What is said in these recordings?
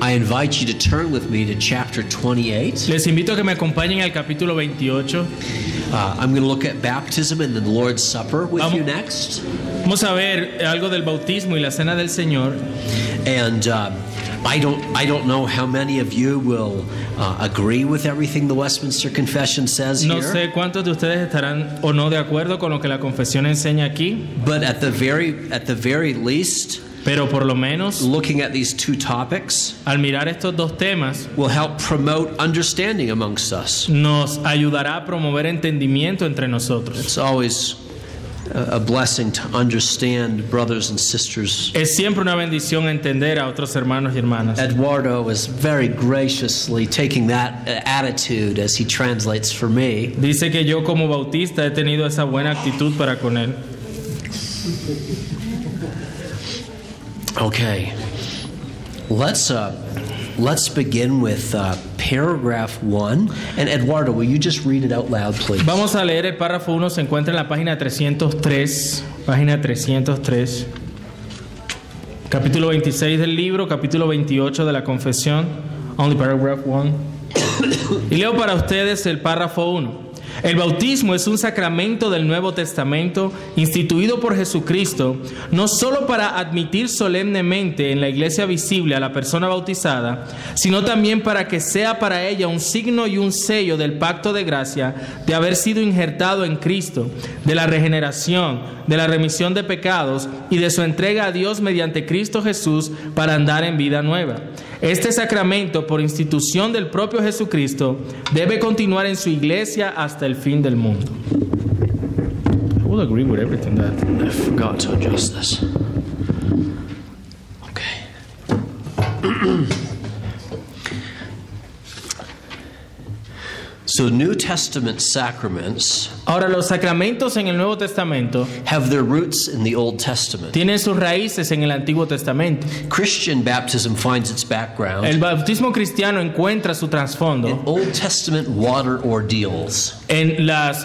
I invite you to turn with me to chapter 28. Les invito a que me acompañen al capítulo 28. I'm going to look at baptism and the Lord's Supper with Vamos. you next. Vamos a ver algo del bautismo y la cena del Señor. And I don't know how many of you will agree with everything the Westminster Confession says No here. sé cuántos de ustedes estarán o no de acuerdo con lo que la confesión enseña aquí, But at the very least, pero por lo menos looking at these two topics al mirar estos dos temas will help promote understanding amongst us. nos ayudará a promover entendimiento entre nosotros. It's always a blessing to understand brothers and sisters. Es siempre una bendición entender a otros hermanos y hermanas. Eduardo is very graciously taking that attitude as he translates for me. Dice que yo como bautista he tenido esa buena actitud para con él. Okay, let's begin with paragraph 1. And Eduardo, will you just read it out loud, please? Vamos a leer el párrafo 1, se encuentra en la página 303, capítulo 26 del libro, capítulo 28 de la confesión, only paragraph 1. Y leo para ustedes el párrafo 1. El bautismo es un sacramento del Nuevo Testamento instituido por Jesucristo, no solo para admitir solemnemente en la iglesia visible a la persona bautizada, sino también para que sea para ella un signo y un sello del pacto de gracia de haber sido injertado en Cristo, de la regeneración, de la remisión de pecados y de su entrega a Dios mediante Cristo Jesús para andar en vida nueva. Este sacramento, por institución del propio Jesucristo, debe continuar en su iglesia hasta el fin del mundo. I will agree with everything that I forgot to adjust this. Okay. So New Testament sacraments Ahora, los sacramentos en el Nuevo Testamento have their roots in the Old Testament. tienen sus raíces en el Antiguo Testamento. Christian baptism finds its background El bautismo cristiano encuentra su in trasfondo Old Testament water ordeals, en las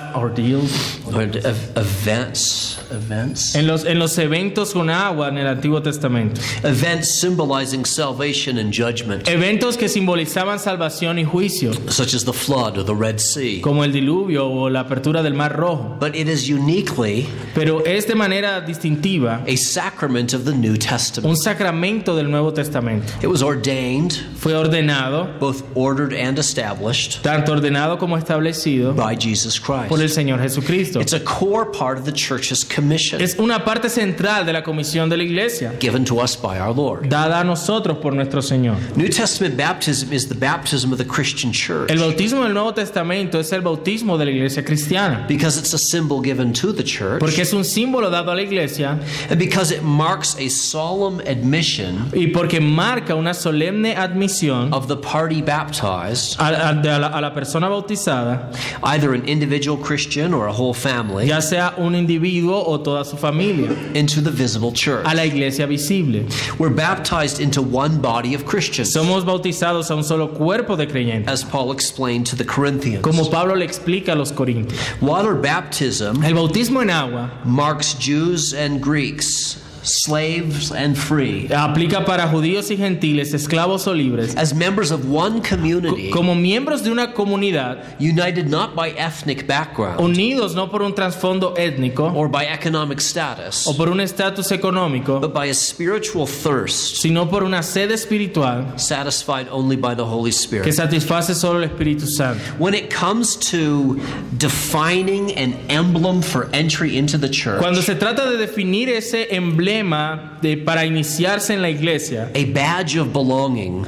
events, en los eventos con agua en el Antiguo Testamento. events symbolizing salvation and judgment, Eventos que simbolizaban salvación y juicio, such as the flood or the Red Sea. como el diluvio o la apertura del Mar Rojo. But it is uniquely Pero es de manera distintiva a sacrament of the New Testament. un sacramento del Nuevo Testamento. It was ordained, Fue ordenado, both ordered and established, tanto ordenado como establecido, by Jesus por el Christ. Señor Jesucristo. It's a core part of the church's commission Es una parte central de la comisión de la iglesia, given to us by our Lord. dada a nosotros por nuestro Señor. New Testament baptism is the baptism of the Christian church El bautismo del Nuevo Testamento es el bautismo de la iglesia cristiana, because it's a symbol given to the church porque es un símbolo dado a la iglesia and because it marks a solemn admission y porque marca una solemne admisión of the party baptized, a la persona bautizada, either an individual Christian or a whole family, ya sea un individuo o toda su familia, into the visible church. a la iglesia visible. We're baptized into one body of Christians, Somos bautizados a un solo cuerpo de creyentes, as Paul explained to the Corinthians. como Pablo le explica a los corintios. Water baptism El bautismo en agua marks Jews and Greeks, slaves and free, aplica para judíos y gentiles, esclavos o libres, as members of one community, como miembros de una comunidad, united not by ethnic background unidos no por un trasfondo étnico or by economic status, o por un estatus económico, but by a spiritual thirst sino por una sed espiritual satisfied only by the Holy que Spirit. satisface solo el Espíritu Santo. When it comes to defining an emblem for entry into the church, Cuando se trata de definir ese emblema para iniciarse en la iglesia, a badge of belonging,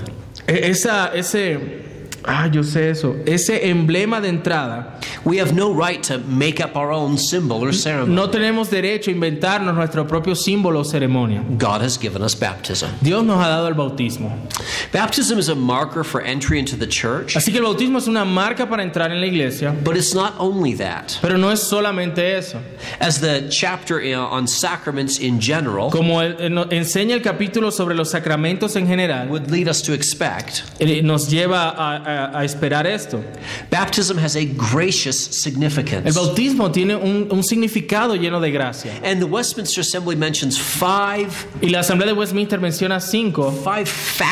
ese emblema de entrada, we have no right to make up our own symbol or ceremony. no tenemos derecho a inventarnos nuestro propio símbolo o ceremonia. God has given us baptism. Dios nos ha dado el bautismo. Baptism is a marker for entry into the church, Así que el bautismo es una marca para entrar en la iglesia, but it's not only that. pero no es solamente eso. As the chapter on sacraments in general Como enseña el capítulo sobre los sacramentos en general, would lead us to expect, nos lleva a esperar esto. baptism has a gracious El significance. bautismo tiene un significado lleno de gracia. And the Westminster Assembly mentions five Y la Asamblea de Westminster menciona cinco facets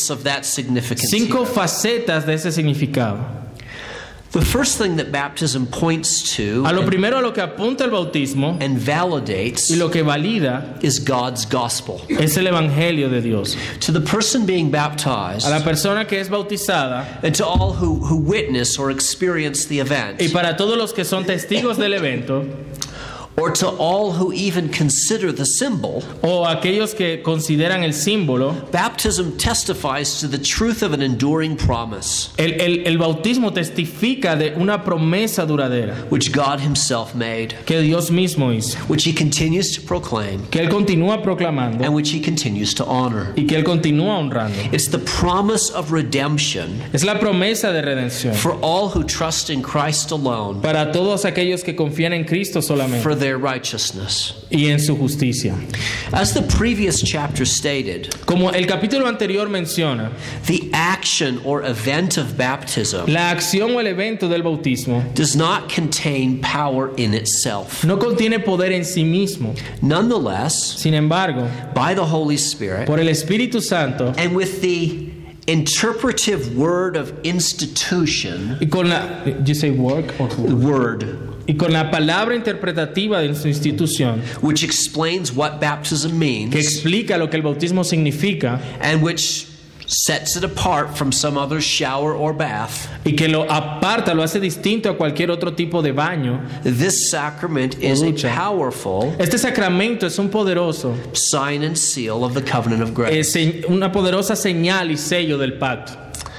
facets of that significance. 5 facetas de ese significado. The first thing that baptism points to A lo primero a lo que apunta el bautismo and validates y lo que valida is God's gospel. es el evangelio de Dios. To the person being baptized A la persona que es bautizada and to all who witness or experience the event, y para todos los que son testigos del evento or to all who even consider the symbol, o aquellos que consideran el símbolo, baptism testifies to the truth of an enduring promise el bautismo testifica de una promesa duradera which God himself made, que Dios mismo hizo, which he continues to proclaim, que Él continúa proclamando and which he continues to honor. y que Él continúa honrando. It's the promise of redemption Es la promesa de redención for all who trust in Christ alone para todos aquellos que confían en Cristo solamente for their righteousness. y en su justicia. As the previous chapter stated, Como el capítulo anterior menciona, the action or event of baptism la acción o el evento del bautismo does not contain power in itself. no contiene poder en sí mismo. Nonetheless, Sin embargo, by the Holy Spirit por el Espíritu Santo and with the interpretive word of institution, y con la you say work or word, y con la palabra interpretativa de su institución which explains what baptism que means explica lo que el bautismo significa and which sets it apart from some other shower or bath, y que lo aparta, lo hace distinto a cualquier otro tipo de baño. this sacrament is a Ducha. powerful Este sacramento es un poderoso, sign and seal of the covenant of grace. una poderosa señal y sello del pacto.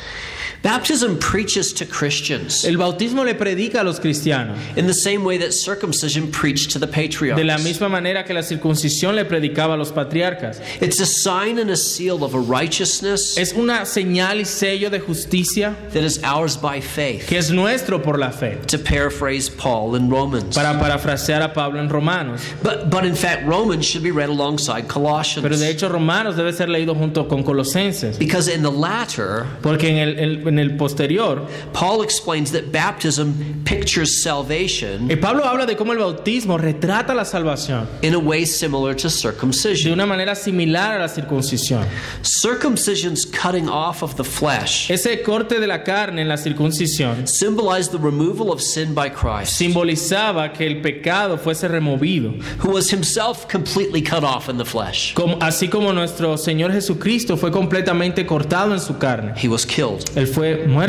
Baptism preaches to Christians El bautismo le predica a los cristianos in the same way that circumcision preached to the patriarchs. de la misma manera que la circuncisión le predicaba a los patriarcas. It's a sign and a seal of a righteousness Es una señal y sello de justicia that is ours by faith, que es nuestro por la fe. to paraphrase Paul in Romans. Para parafrasear a Pablo en Romanos. But in fact, Romans should be read alongside Pero de Colossians, hecho Romanos debe ser leído junto con Colosenses. because in the latter, Porque en el posterior, Paul explains that baptism pictures salvation Pablo habla de cómo el bautismo retrata la salvación in a way similar to de circumcision. una manera similar a la circuncisión. Circumcision's cutting off of the flesh Ese corte de la carne en la circuncisión symbolized the removal of sin by Christ, simbolizaba que el pecado fuese removido, who was himself completely cut off in the flesh. así como nuestro Señor Jesucristo fue completamente cortado en su carne. He was killed. Él fue muerto.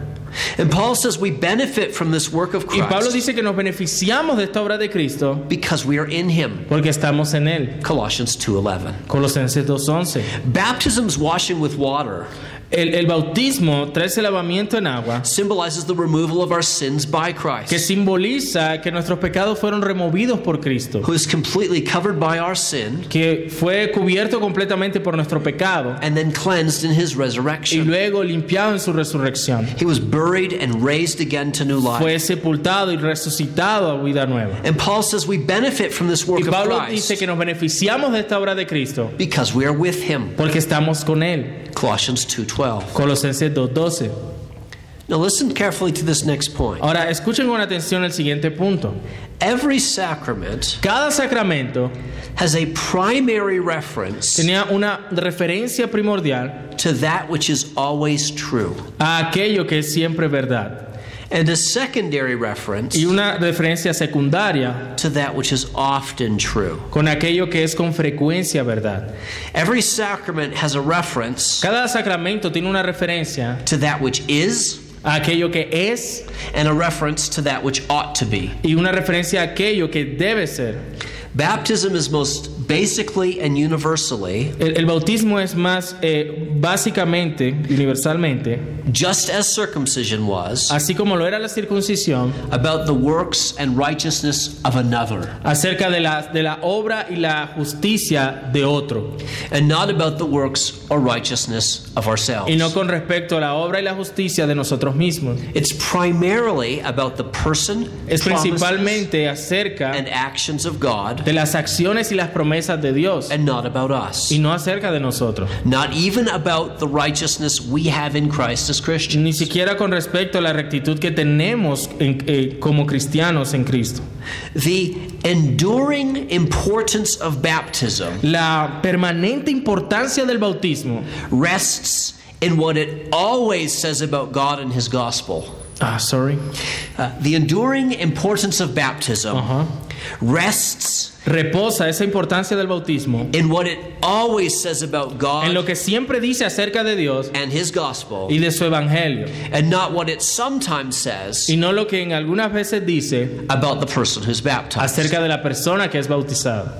And Paul says we benefit from this work of Y Pablo Christ dice que nos beneficiamos de esta obra de Cristo because we are in him. porque estamos en Él. Colossians 2:11. Colosenses 2:11. Baptism's washing with water El bautismo trae ese lavamiento en agua symbolizes the removal of our sins by que Christ, simboliza que nuestros pecados fueron removidos por Cristo, who is completely covered by our sin que fue cubierto completamente por nuestro pecado and then cleansed in his y resurrection. luego limpiado en su resurrección. He was buried and raised again to new Fue life. sepultado y resucitado a vida nueva. And Paul says we benefit from this work Y of Pablo dice Christ que nos beneficiamos de esta obra de Cristo because we are with him. porque estamos con Él. Colossians 2:12. Colosenses 2:12. Now listen carefully to this next point. Ahora, escuchen con atención el siguiente punto. Every sacrament Cada sacramento has a primary reference tenía una referencia primordial to that which is always true, a aquello que es siempre verdad and a secondary reference y una referencia secundaria to that which is often true. con aquello que es con frecuencia verdad. Every sacrament has a reference Cada sacramento tiene una referencia to that which is a aquello que es and a reference to that which ought to be. y una referencia a aquello que debe ser. Baptism is most basically and universally, El bautismo es más básicamente, universalmente, just as circumcision was, así como lo era la circuncisión, about the works and righteousness of another, acerca de la obra y la justicia de otro, and not about the works or righteousness of ourselves. y no con respecto a la obra y la justicia de nosotros mismos. It's primarily about the person, Es promises, principalmente acerca and actions of God, de las acciones y las promesas de Dios, and not about us. y no acerca de nosotros. Not even about the righteousness we have in Christ as Christians. Ni siquiera con respecto a la rectitud que tenemos como cristianos en Cristo. The enduring importance of baptism La permanente importancia del bautismo rests in what it always says about God and His gospel. The enduring importance of baptism rests reposa esa importancia del bautismo in what it always says about God en lo que siempre dice acerca de Dios and His gospel, y de su evangelio, and not what it sometimes says y no lo que en algunas veces dice about the person who's baptized. acerca de la persona que es bautizada.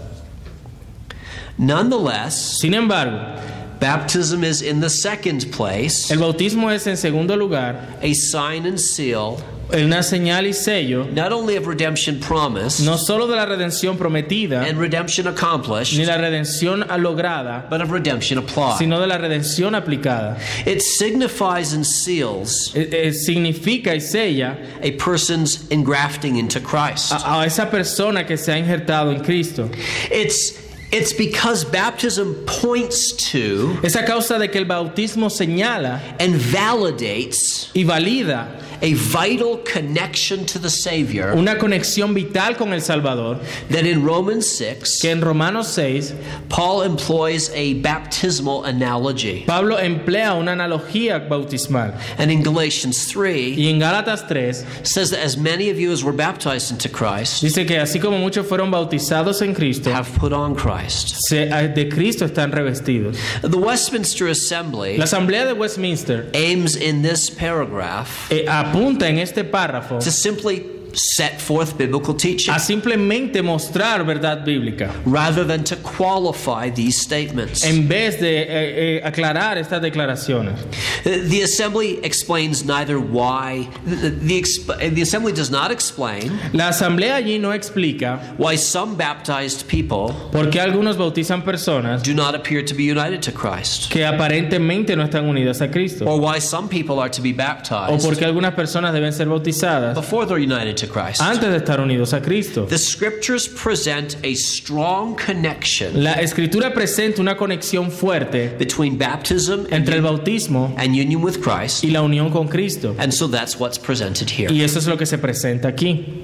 Nonetheless, sin embargo, baptism is in the second place el bautismo es en segundo lugar a sign and seal una señal y sello not only of redemption promised no solo de la redención prometida and redemption accomplished, ni la redención lograda, but of redemption applied. sino de la redención aplicada. It signifies and seals Significa y sella a person's engrafting into Christ. a esa persona que se ha injertado en Cristo. It's because baptism points to Es a causa de que el bautismo señala and validates y valida a vital connection to the Savior una conexión vital con el Salvador, that in Romans 6, que en Romanos 6 Paul employs a baptismal analogy. Pablo emplea una analogía bautismal, And in Galatians 3 y en Gálatas 3 says that as many of you as were baptized into Christ dice que así como muchos fueron bautizados en Cristo, have put on Christ. de Cristo están revestidos. The Westminster Assembly La Asamblea de Westminster aims in this paragraph apunta en este párrafo to simply set forth biblical teaching a simplemente mostrar verdad bíblica rather than to qualify these statements. en vez de aclarar estas declaraciones. The Assembly explains neither why the Assembly does not explain La Asamblea allí no explica why some baptized people por qué algunos bautizan personas do not appear to be united to Christ, que aparentemente no están unidas a Cristo, or why some people are to be o baptized por qué algunas personas deben ser bautizadas before they're united to Christ. antes de estar unidos a Cristo. The scriptures present a strong connection La Escritura presenta una conexión fuerte between baptism entre el bautismo and union with Christ, y la unión con Cristo, and so that's what's presented here. y eso es lo que se presenta aquí.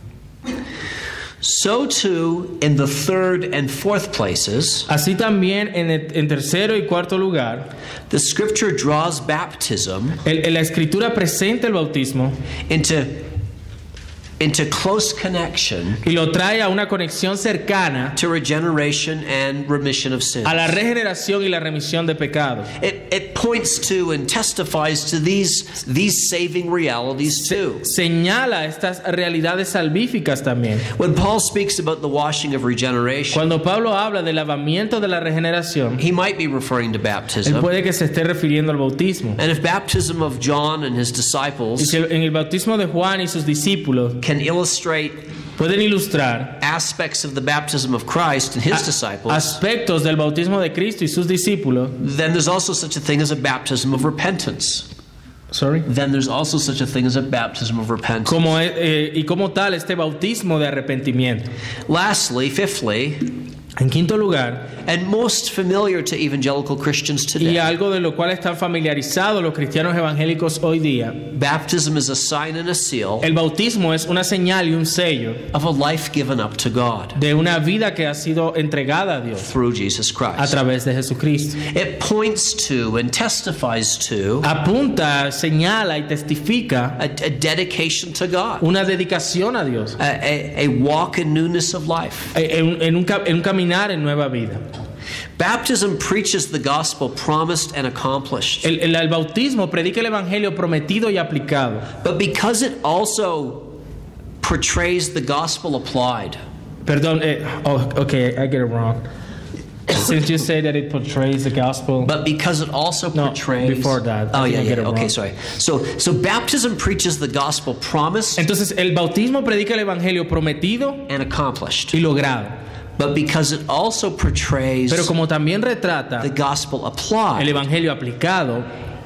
So too in the third and fourth places, Así también en tercero y cuarto lugar, the scripture draws baptism la Escritura presenta el bautismo into close connection y lo trae a una conexión cercana to regeneration and remission of sins. a la regeneración y la remisión de pecados. It points to and testifies to these saving realities too. Señala estas realidades salvíficas también. When Paul speaks about the washing of regeneration, Cuando Pablo habla del lavamiento de la regeneración, he might be referring to él baptism. puede que se esté refiriendo al bautismo. And if baptism of John and his Y disciples si en el bautismo de Juan y sus discípulos can illustrate pueden ilustrar aspects of the baptism of Christ and his disciples, aspectos del bautismo de Cristo y sus discípulos, then there's also such a thing as a baptism of repentance. Then there's also such a thing as a baptism of repentance. y como tal este bautismo de arrepentimiento. Lastly, fifthly, En quinto lugar, and most familiar to evangelical Christians y today, algo de lo cual están familiarizados los cristianos evangélicos hoy día, baptism is a sign and a seal el bautismo es una señal y un sello of a life given up to God de una vida que ha sido entregada a Dios through Jesus a Christ. través de Jesucristo. It points to and testifies to Apunta, señala y testifica a dedication to God, una dedicación a Dios, a walk in newness of life. en un caminar en nueva vida. Baptism preaches the gospel promised and accomplished. El bautismo predica el evangelio prometido y aplicado, But because it also portrays the gospel applied, perdón, okay, I get it wrong. Since you say that it portrays the gospel, but because it also No, portrays... before that. Oh, I yeah, think I get yeah. it Okay, wrong. sorry. So baptism preaches the gospel promised entonces el bautismo predica el evangelio prometido and accomplished. y logrado, But because it also portrays pero como también retrata the gospel el applied, evangelio aplicado,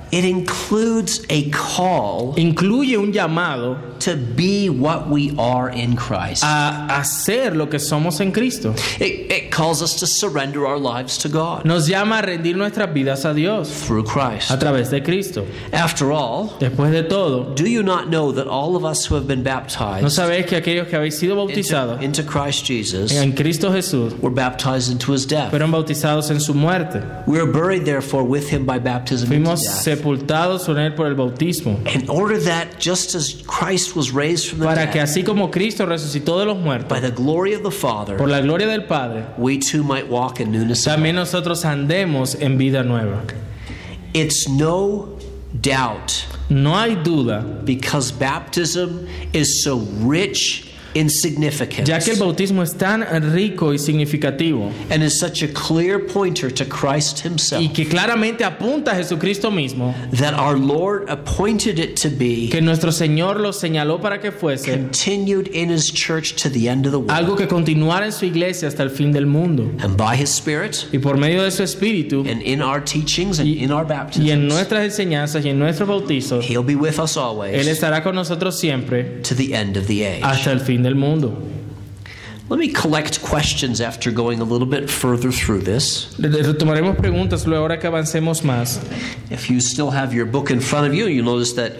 it includes a call incluye un llamado to be what we are in Christ. a hacer lo que somos en Cristo. It calls us to surrender our lives to God Nos llama a rendir nuestras vidas a Dios through Christ. a través de Cristo. After all, Después de todo, do you not know that all of us who have been baptized ¿no sabéis que aquellos que habéis sido bautizados into Christ Jesus en Cristo Jesús were baptized into his death? fueron bautizados en su muerte? We are buried therefore with him by baptism into Fuimos death. sepultados con él por el bautismo, In order that just as Christ was raised from the para que dead así como Cristo resucitó de los muertos by the glory of the Father, por la gloria del Padre, we too might walk in newness of también life. nosotros andemos en vida nueva. It's no doubt, No hay duda, because baptism is so rich in significance ya que el bautismo es tan rico y significativo and is such a clear pointer to Christ himself, y que claramente apunta a Jesucristo mismo, that our Lord appointed it to be que nuestro Señor lo señaló para que fuese continued in his church to the end of the world. algo que continuara en su iglesia hasta el fin del mundo. And by his Spirit, Y por medio de su Espíritu and in our teachings and in our y en baptisms, nuestras enseñanzas y en nuestros bautizos, he'll be with us Él always estará con nosotros siempre to the end of the age. hasta el fin del mundo. Let me collect questions after going a little bit further through this. Retomaremos preguntas luego ahora que avancemos más. If you still have your book in front of you, you'll notice that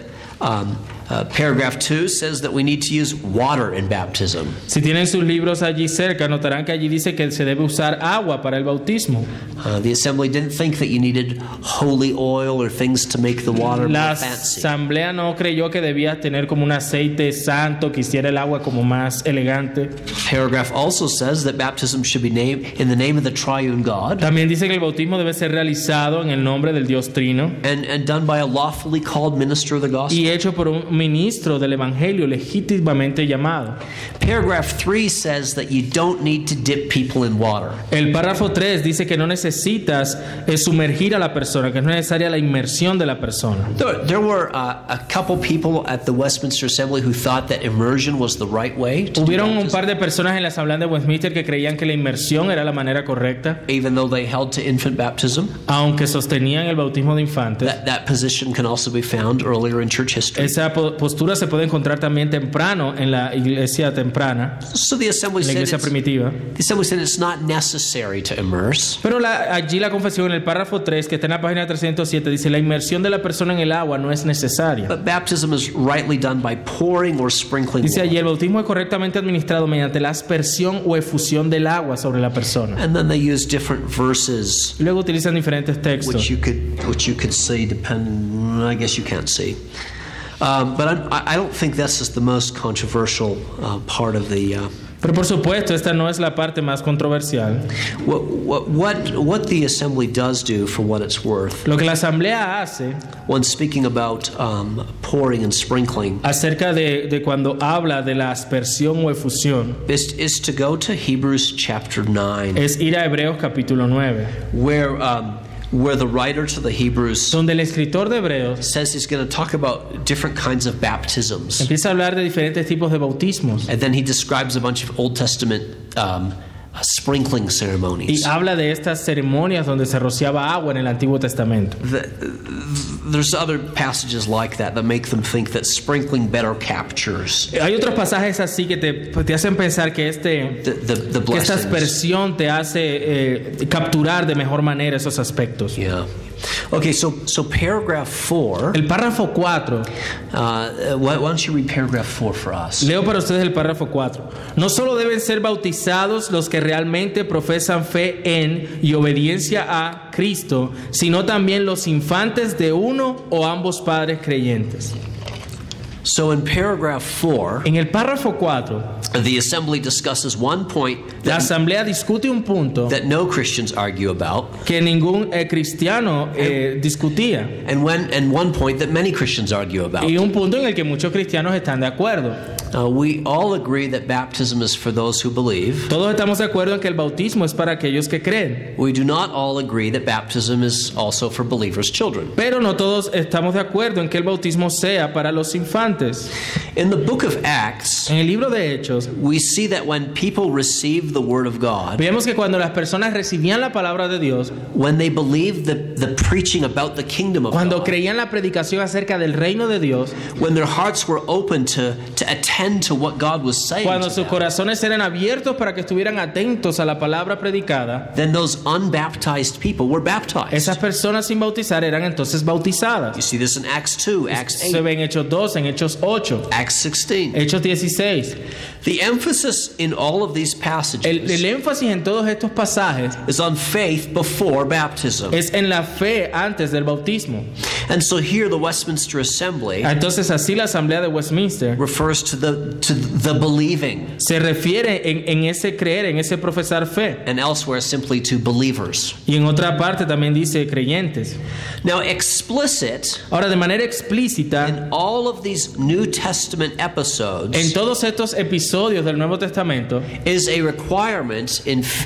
paragraph 2 says that we need to use water in baptism. Si tienen sus libros allí cerca, notarán que allí dice que se debe usar agua para el bautismo. The assembly didn't think that you needed holy oil or things to make the water La more fancy. asamblea no creyó que debía tener como un aceite santo que hiciera el agua como más elegante. Paragraph also says that baptism should be named in the name of the triune God También dice que el bautismo debe ser realizado en el nombre del Dios Trino and done by a lawfully called minister of the gospel. y hecho por un ministro del evangelio legítimamente llamado. Paragraph 3 says that you don't need to dip people in water. El párrafo 3 dice que no necesitas sumergir a la persona, que es necesaria la inmersión de la persona. There were a couple people at the Westminster Assembly who thought that immersion was the right way to do Hubieron un baptism, par de personas en la asamblea de Westminster que creían que la inmersión era la manera correcta, even though they held to infant baptism. aunque sostenían el bautismo de infantes. That position can also be found earlier in church history. Esa postura se puede encontrar también temprano en la iglesia temprana, So the assembly en la said iglesia primitiva. it's not necessary to immerse. Pero allí la confesión en el párrafo 3, que está en la página 307, dice la inmersión de la persona en el agua no es necesaria. But baptism is rightly done by pouring or sprinkling Dice allí water. el bautismo es correctamente administrado mediante la aspersión o efusión del agua sobre la persona. And then they use different verses Y luego utilizan diferentes textos. which you could see I guess you can't see. But I don't think this is the most controversial part of the Pero por supuesto, esta no es la parte más controversial. what the assembly does do, for what it's worth, Lo que la asamblea hace when speaking about pouring and sprinkling, acerca de cuando habla de la aspersión o efusión is to go to Hebrews chapter 9, es ir a Hebreos capítulo 9, where the writer to the Hebrews donde el escritor de Hebreos says he's going to talk about different kinds of baptisms. empieza a hablar de diferentes tipos de bautismos And then he describes a bunch of Old Testament sprinkling y ceremonies. habla de estas ceremonias donde se rociaba agua en el Antiguo Testamento. There's other passages like that make them think that sprinkling better captures Hay otros pasajes así que te hacen pensar que the que esta blessings. aspersión te hace capturar de mejor manera esos aspectos. Yeah. Okay, so paragraph 4. El párrafo 4, Why don't you read paragraph 4 for us? leo para ustedes el párrafo 4. No solo deben ser bautizados los que realmente profesan fe en y obediencia a Cristo, sino también los infantes de uno o ambos padres creyentes. So in paragraph 4, En el párrafo 4, the assembly discusses one point la asamblea discute un punto that no Christians argue about, que ningún cristiano discutía and one point that many Christians argue about. y un punto en el que muchos cristianos están de acuerdo. We all agree that baptism is for those who believe. Todos estamos de acuerdo en que el bautismo es para aquellos que creen. We do not all agree that baptism is also for believers' children. Pero no todos estamos de acuerdo en que el bautismo sea para los infantes. In the book of Acts, en el libro de Hechos, we see that when people received the word of God, vemos que cuando las personas recibían la palabra de Dios, when they believed the preaching about the kingdom of cuando God, creían la predicación acerca del reino de Dios, when their hearts were open to attend to what God was saying, cuando to sus them, corazones eran abiertos para que estuvieran atentos a la palabra predicada, then those unbaptized people were baptized. esas personas sin bautizar eran entonces bautizadas. You see this in Acts 2, Acts 8, Se ve en Hechos 2, en Hechos 8, Acts 16. Hechos 16. The emphasis in all of these passages El énfasis en todos estos pasajes is on faith before baptism. es en la fe antes del bautismo. And so here the Westminster Assembly Entonces así la Asamblea de Westminster refers to the believing, se refiere en ese creer, en ese profesar fe. and elsewhere simply to believers. Y en otra parte también dice creyentes. Now explicit Ahora, de manera explícita, in all of these New Testament en episodes todos estos episodios del Nuevo Testamento is a requirement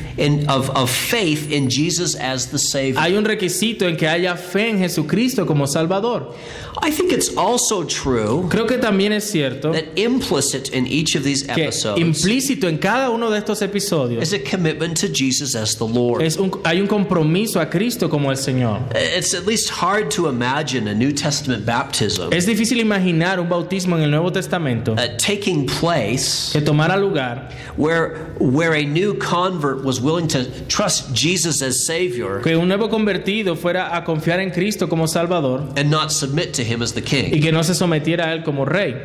of faith in Jesus as the Savior. hay un requisito en que haya fe en Jesucristo como Salvador. I think it's also true Creo que también es cierto that implicit in each of these que episodes implícito en cada uno de estos episodios is a commitment to Jesus as the Lord. hay un compromiso a Cristo como el Señor. It's at least hard to imagine a New Testament baptism Es difícil imaginar un bautismo en el Nuevo Testamento taking place que tomara lugar, where a new convert was willing to trust Jesus as Savior que un nuevo convertido fuera a confiar en Cristo como Salvador and not submit to Him as the y King. que no se sometiera a Él como Rey.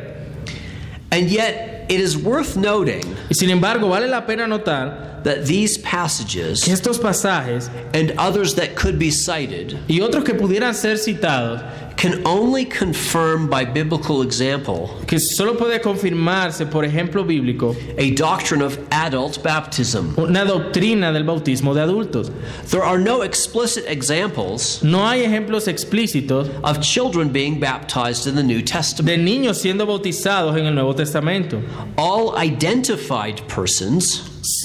And yet, it is worth noting Y sin embargo, vale la pena notar that these passages que estos pasajes and others that could be cited y otros que pudieran ser citados, can only confirm by biblical example que solo puede confirmarse por ejemplo bíblico, a doctrine of adult baptism. una doctrina del bautismo de adultos. There are no explicit examples No hay ejemplos explícitos of children being baptized in the New Testament. de niños siendo bautizados en el Nuevo Testamento. All identified persons,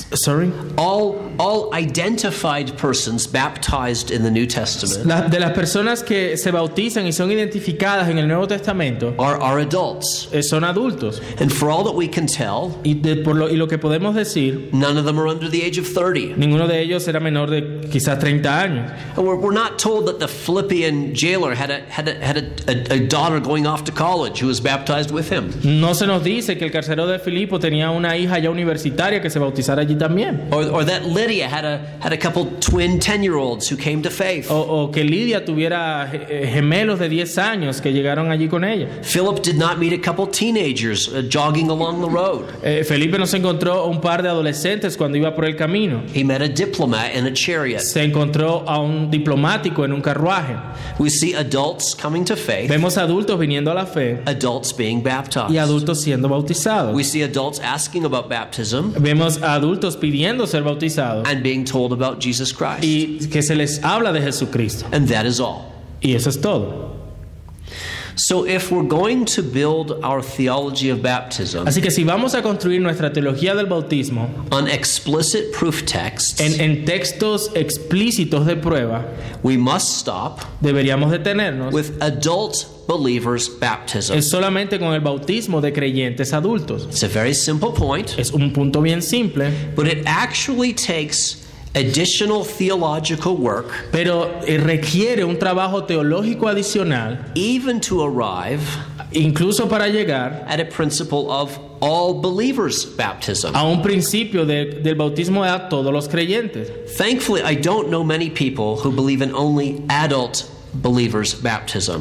all identified persons baptized in the New Testament De las personas que se bautizan y son identificadas en el Nuevo Testamento are adults. son adultos. And for all that we can tell, Y lo que podemos decir, none of them are under the age of 30. ninguno de ellos era menor de quizás 30 años. And we're not told that the Philippian jailer had a daughter going off to college who was baptized with him. No se nos dice que el carcelero de Filipo tenía una hija ya universitaria que se bautizara allí también. Or that Lydia had a couple twin 10-year-olds who came to faith. O que Lidia tuviera gemelos de 10 años que llegaron allí con ella. Philip did not meet a couple teenagers jogging along the road. Felipe no se encontró un par de adolescentes cuando iba por el camino. He met a diplomat in a chariot. Se encontró a un diplomático en un carruaje. We see adults coming to faith, Vemos adultos viniendo a la fe adults being baptized. y adultos siendo bautizados. We see adults asking about baptism Vemos a adultos pidiendo ser bautizados and being told about Jesus Christ. y que se les habla de Jesucristo. And that is all. Y eso es todo. So if we're going to build our theology of baptism Así que si vamos a construir nuestra teología del bautismo on explicit proof texts, en textos explícitos de prueba, we must stop deberíamos detenernos with adult believers' baptism. es solamente con el bautismo de creyentes adultos. It's a very simple point, Es un punto bien simple, but it actually takes additional theological work pero requiere un trabajo teológico adicional, even to arrive incluso para llegar at a principle of all believers' baptism. a un principio del bautismo a todos los creyentes. Thankfully, I don't know many people who believe in only adult believers' baptism.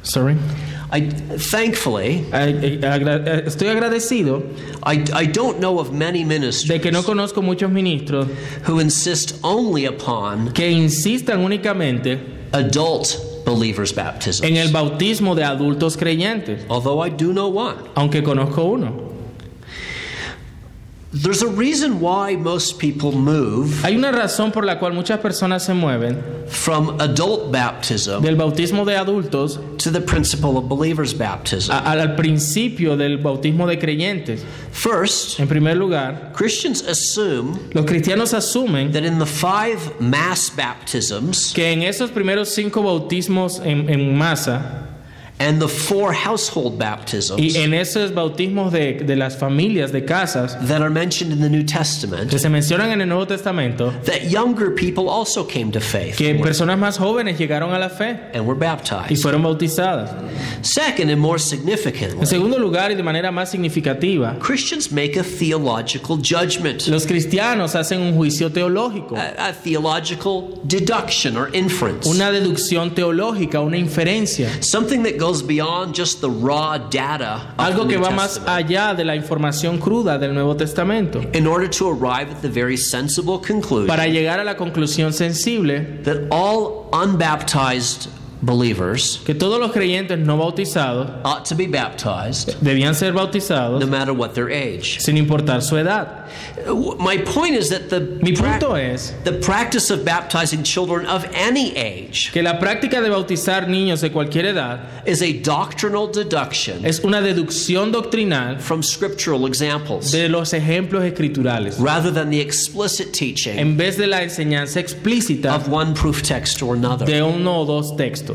Thankfully, estoy agradecido I don't know of many ministers de que no conozco muchos ministros who insist only upon que insistan únicamente adult believers' baptism. en el bautismo de adultos creyentes, Although I do know one. aunque conozco uno. There's a reason why most people move Hay una razón por la cual muchas personas se mueven from adult baptism del bautismo de adultos to the principle of believers' baptism. al principio del bautismo de creyentes. First, En primer lugar, Christians assume los cristianos asumen that in the 5 mass baptisms que en esos primeros 5 bautismos en masa and the 4 household baptisms y en esos bautismos de las familias, de casas, that are mentioned in the New Testament, que se mencionan en el Nuevo Testamento, that younger people also came to faith que personas más jóvenes llegaron a la fe and were y baptized. fueron bautizadas. Second, and more En significantly, segundo lugar, y de manera más significativa, Christians make a theological judgment, los cristianos hacen un juicio teológico, a theological deduction or inference, una deducción teológica, una inferencia, something that goes beyond just the raw data of algo the que New va más Testament, allá de la información cruda del Nuevo Testamento, in order to arrive at the very sensible conclusion para llegar a la conclusión sensible that all unbaptized believers que todos los creyentes no bautizados ought to be baptized debían ser bautizados no matter what their age. sin importar su edad. My point is that Mi punto es the practice of baptizing children of any age que la práctica de bautizar niños de cualquier edad is a doctrinal deduction es una deducción doctrinal from scriptural examples de los ejemplos escriturales, rather than the explicit teaching en vez de la enseñanza explícita of one proof text or another. de uno o dos textos.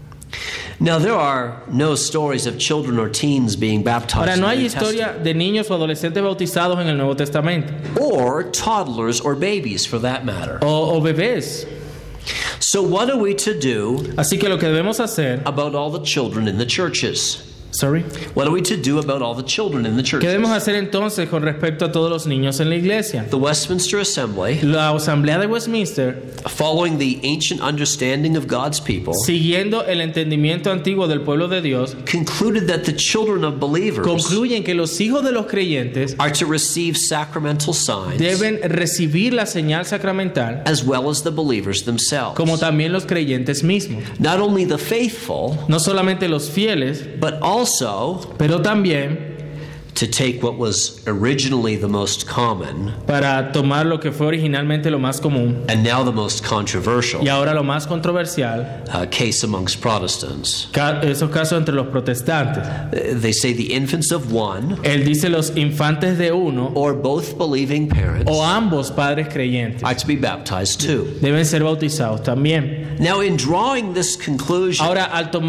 Now, there are no stories of children or teens being baptized Ahora, no in the hay New historia Testament, de niños o adolescentes bautizados en el Nuevo Testamento, or toddlers or babies for that matter. o bebés. So what are we to do Así que lo que debemos hacer, about all the children in the churches? sorry, What are we to do about all the children in the ¿qué debemos churches? hacer entonces con respecto a todos los niños en la iglesia? The Westminster Assembly, La Asamblea de Westminster, following the ancient understanding of God's people, siguiendo el entendimiento antiguo del pueblo de Dios, concluded that the children of believers concluyen que los hijos de los creyentes are to receive sacramental signs deben recibir la señal sacramental, as well as the believers themselves. como también los creyentes mismos. Not only the faithful, No solamente los fieles, but also pero también to take what was originally the most common para tomar lo que fue originalmente lo más común and now the most controversial y ahora lo más controversial, case amongst Protestants. esos casos entre los protestantes. They say the infants of one Él dice los infantes de uno or both believing parents o ambos padres creyentes are to be baptized too. deben ser bautizados también. Now, in drawing this conclusion, Ahora,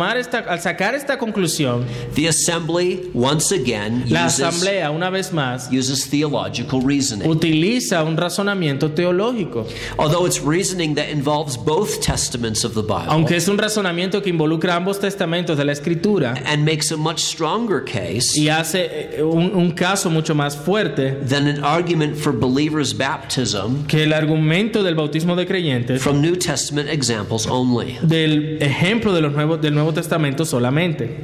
al sacar esta conclusión, the assembly once again la asamblea una vez más uses theological reasoning. utiliza un razonamiento teológico, Although it's reasoning that involves both testaments of the Bible aunque es un razonamiento que involucra ambos testamentos de la Escritura and makes a much stronger case y hace un caso mucho más fuerte than an argument for believers' baptism que el argumento del bautismo de creyentes from New Testament examples only. del ejemplo del Nuevo Testamento solamente.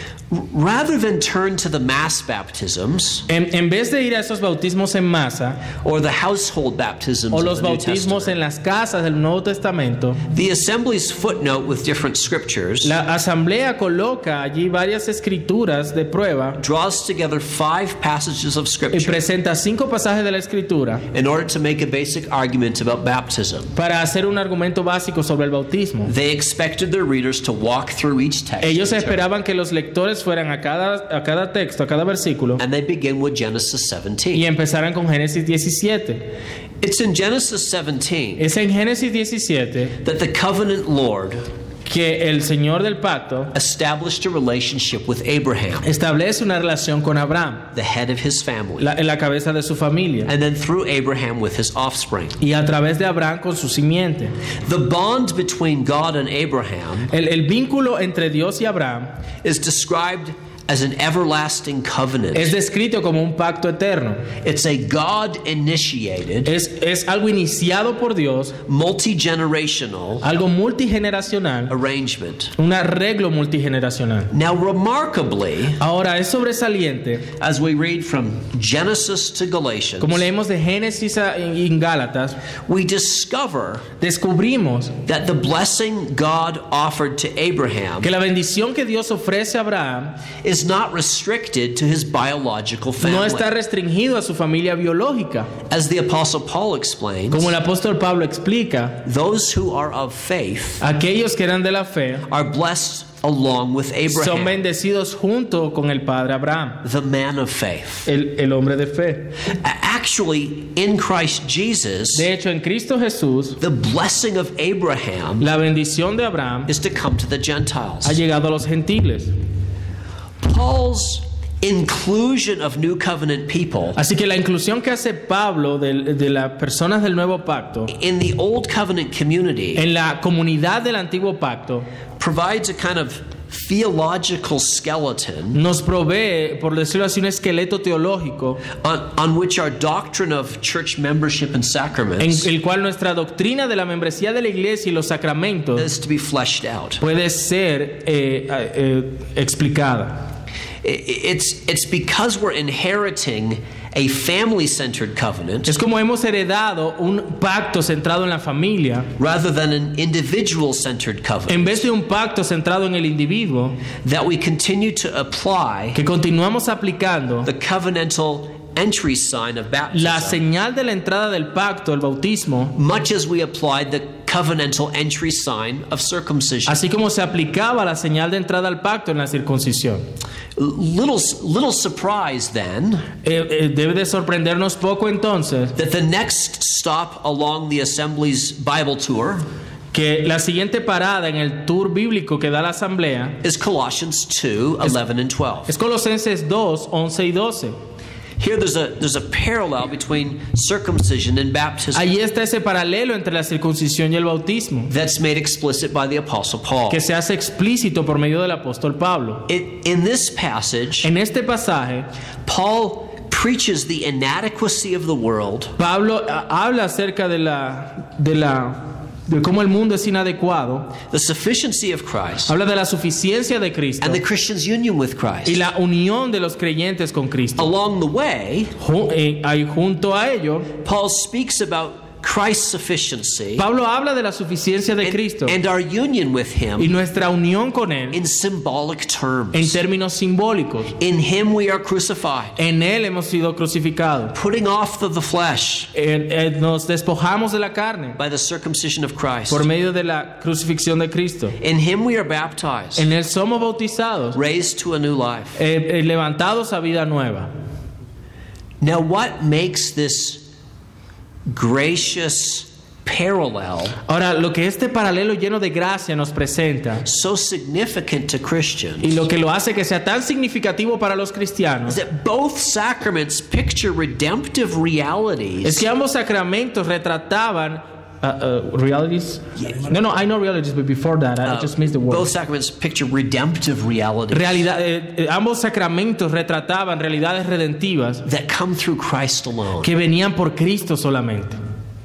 Rather than turn to the mass baptisms En vez de ir a esos bautismos en masa or the household baptisms o of los the New bautismos Testament, en las casas del Nuevo Testamento, the assembly's footnote with different scriptures la asamblea coloca allí varias escrituras de prueba draws together 5 passages of y scripture presenta 5 pasajes de la Escritura in order to make a basic argument about baptism. para hacer un argumento básico sobre el bautismo. They expected their readers to walk through each text Ellos esperaban que los lectores fueran a cada texto, a cada versículo, and they begin with Genesis y 17. empezaran con Génesis 17. It's in Genesis 17 Es en Génesis 17 that the covenant Lord que el Señor del pacto established a relationship with Abraham, establece una relación con Abraham, the head of his family, la cabeza de su familia, and then through Abraham with his offspring. y a través de Abraham con su simiente. The bond between God and Abraham El vínculo entre Dios y Abraham is described as an everlasting covenant. es descrito como un pacto eterno. It's a God-initiated, Es algo iniciado por Dios, multi-generational algo multigeneracional, arrangement. un arreglo multigeneracional. Now, remarkably, Ahora, es sobresaliente, as we read from Genesis to Galatians, como leemos de Génesis en Gálatas, we discover descubrimos that the blessing God offered to Abraham que la bendición que Dios ofrece a Abraham is is not restricted to his biological family. No está restringido a su familia biológica. As the Apostle Paul explains, como el apóstol Pablo explica, those who are of faith aquellos que eran de la fe are blessed along with Abraham, son bendecidos junto con el padre Abraham, the man of faith. El hombre de fe. Actually, in Christ Jesus, de hecho en Cristo Jesús, the blessing of Abraham, la bendición de Abraham, is to come to the Gentiles. Ha llegado a los gentiles. Paul's inclusion of New Covenant people, así que la inclusión que hace Pablo de las personas del Nuevo Pacto in the Old Covenant community, en la comunidad del Antiguo Pacto, provides a kind of theological skeleton, nos provee, por decirlo así, un esqueleto teológico on which our doctrine of church membership and sacraments, en el cual nuestra doctrina de la membresía de la iglesia y los sacramentos is to be fleshed out. Puede ser explicada. It's because we're inheriting a family-centered covenant, es como hemos heredado un pacto centrado en la familia, rather than an individual-centered covenant, en vez de un pacto centrado en el individuo, that we continue to apply que continuamos aplicando the covenantal entry sign of baptism, la señal de la entrada del pacto, el bautismo, much as we applied the covenantal entry sign of circumcision. Así como se aplicaba la señal de entrada al pacto en la circuncisión. Little surprise then, debe de sorprendernos poco entonces, that the next stop along the Assembly's Bible tour, que la siguiente parada en el tour bíblico que da la asamblea, is Colossians 2:11 and 12. Es Colosenses 2, 11 y 12. Here there's a parallel between circumcision and baptism. Allí está ese paralelo entre la circuncisión y el bautismo. That's made explicit by the Apostle Paul. Que se hace explícito por medio del apóstol Pablo. In this passage, en este pasaje, Paul preaches the inadequacy of the world. Pablo habla acerca de cómo el mundo es inadecuado. The sufficiency of Christ. Habla de la suficiencia de Cristo. And the Christian's union with Christ. Y la unión de los creyentes con Cristo. Along the way, junto a ello, Paul speaks about Christ's sufficiency. Pablo habla de la suficiencia de Cristo. And our union with him. Y nuestra unión con él. In symbolic terms. En términos simbólicos. In him we are crucified. En él hemos sido crucificados. Putting off the flesh. Nos despojamos de la carne. By the circumcision of Christ. Por medio de la crucifixión de Cristo. In him we are baptized. En él somos bautizados. Raised to a new life. Levantados a vida nueva. Now what makes this gracious parallel, ahora lo que este paralelo lleno de gracia nos presenta, so significant to Christians, y lo que lo hace que sea tan significativo para los cristianos, is that both sacraments picture redemptive realities. Es que ambos sacramentos retrataban realities. No, I know realities, but before that, I just missed the word. Both sacraments picture redemptive realities. Ambos sacramentos retrataban realidades redentivas that come through Christ alone. Que venían por Cristo solamente.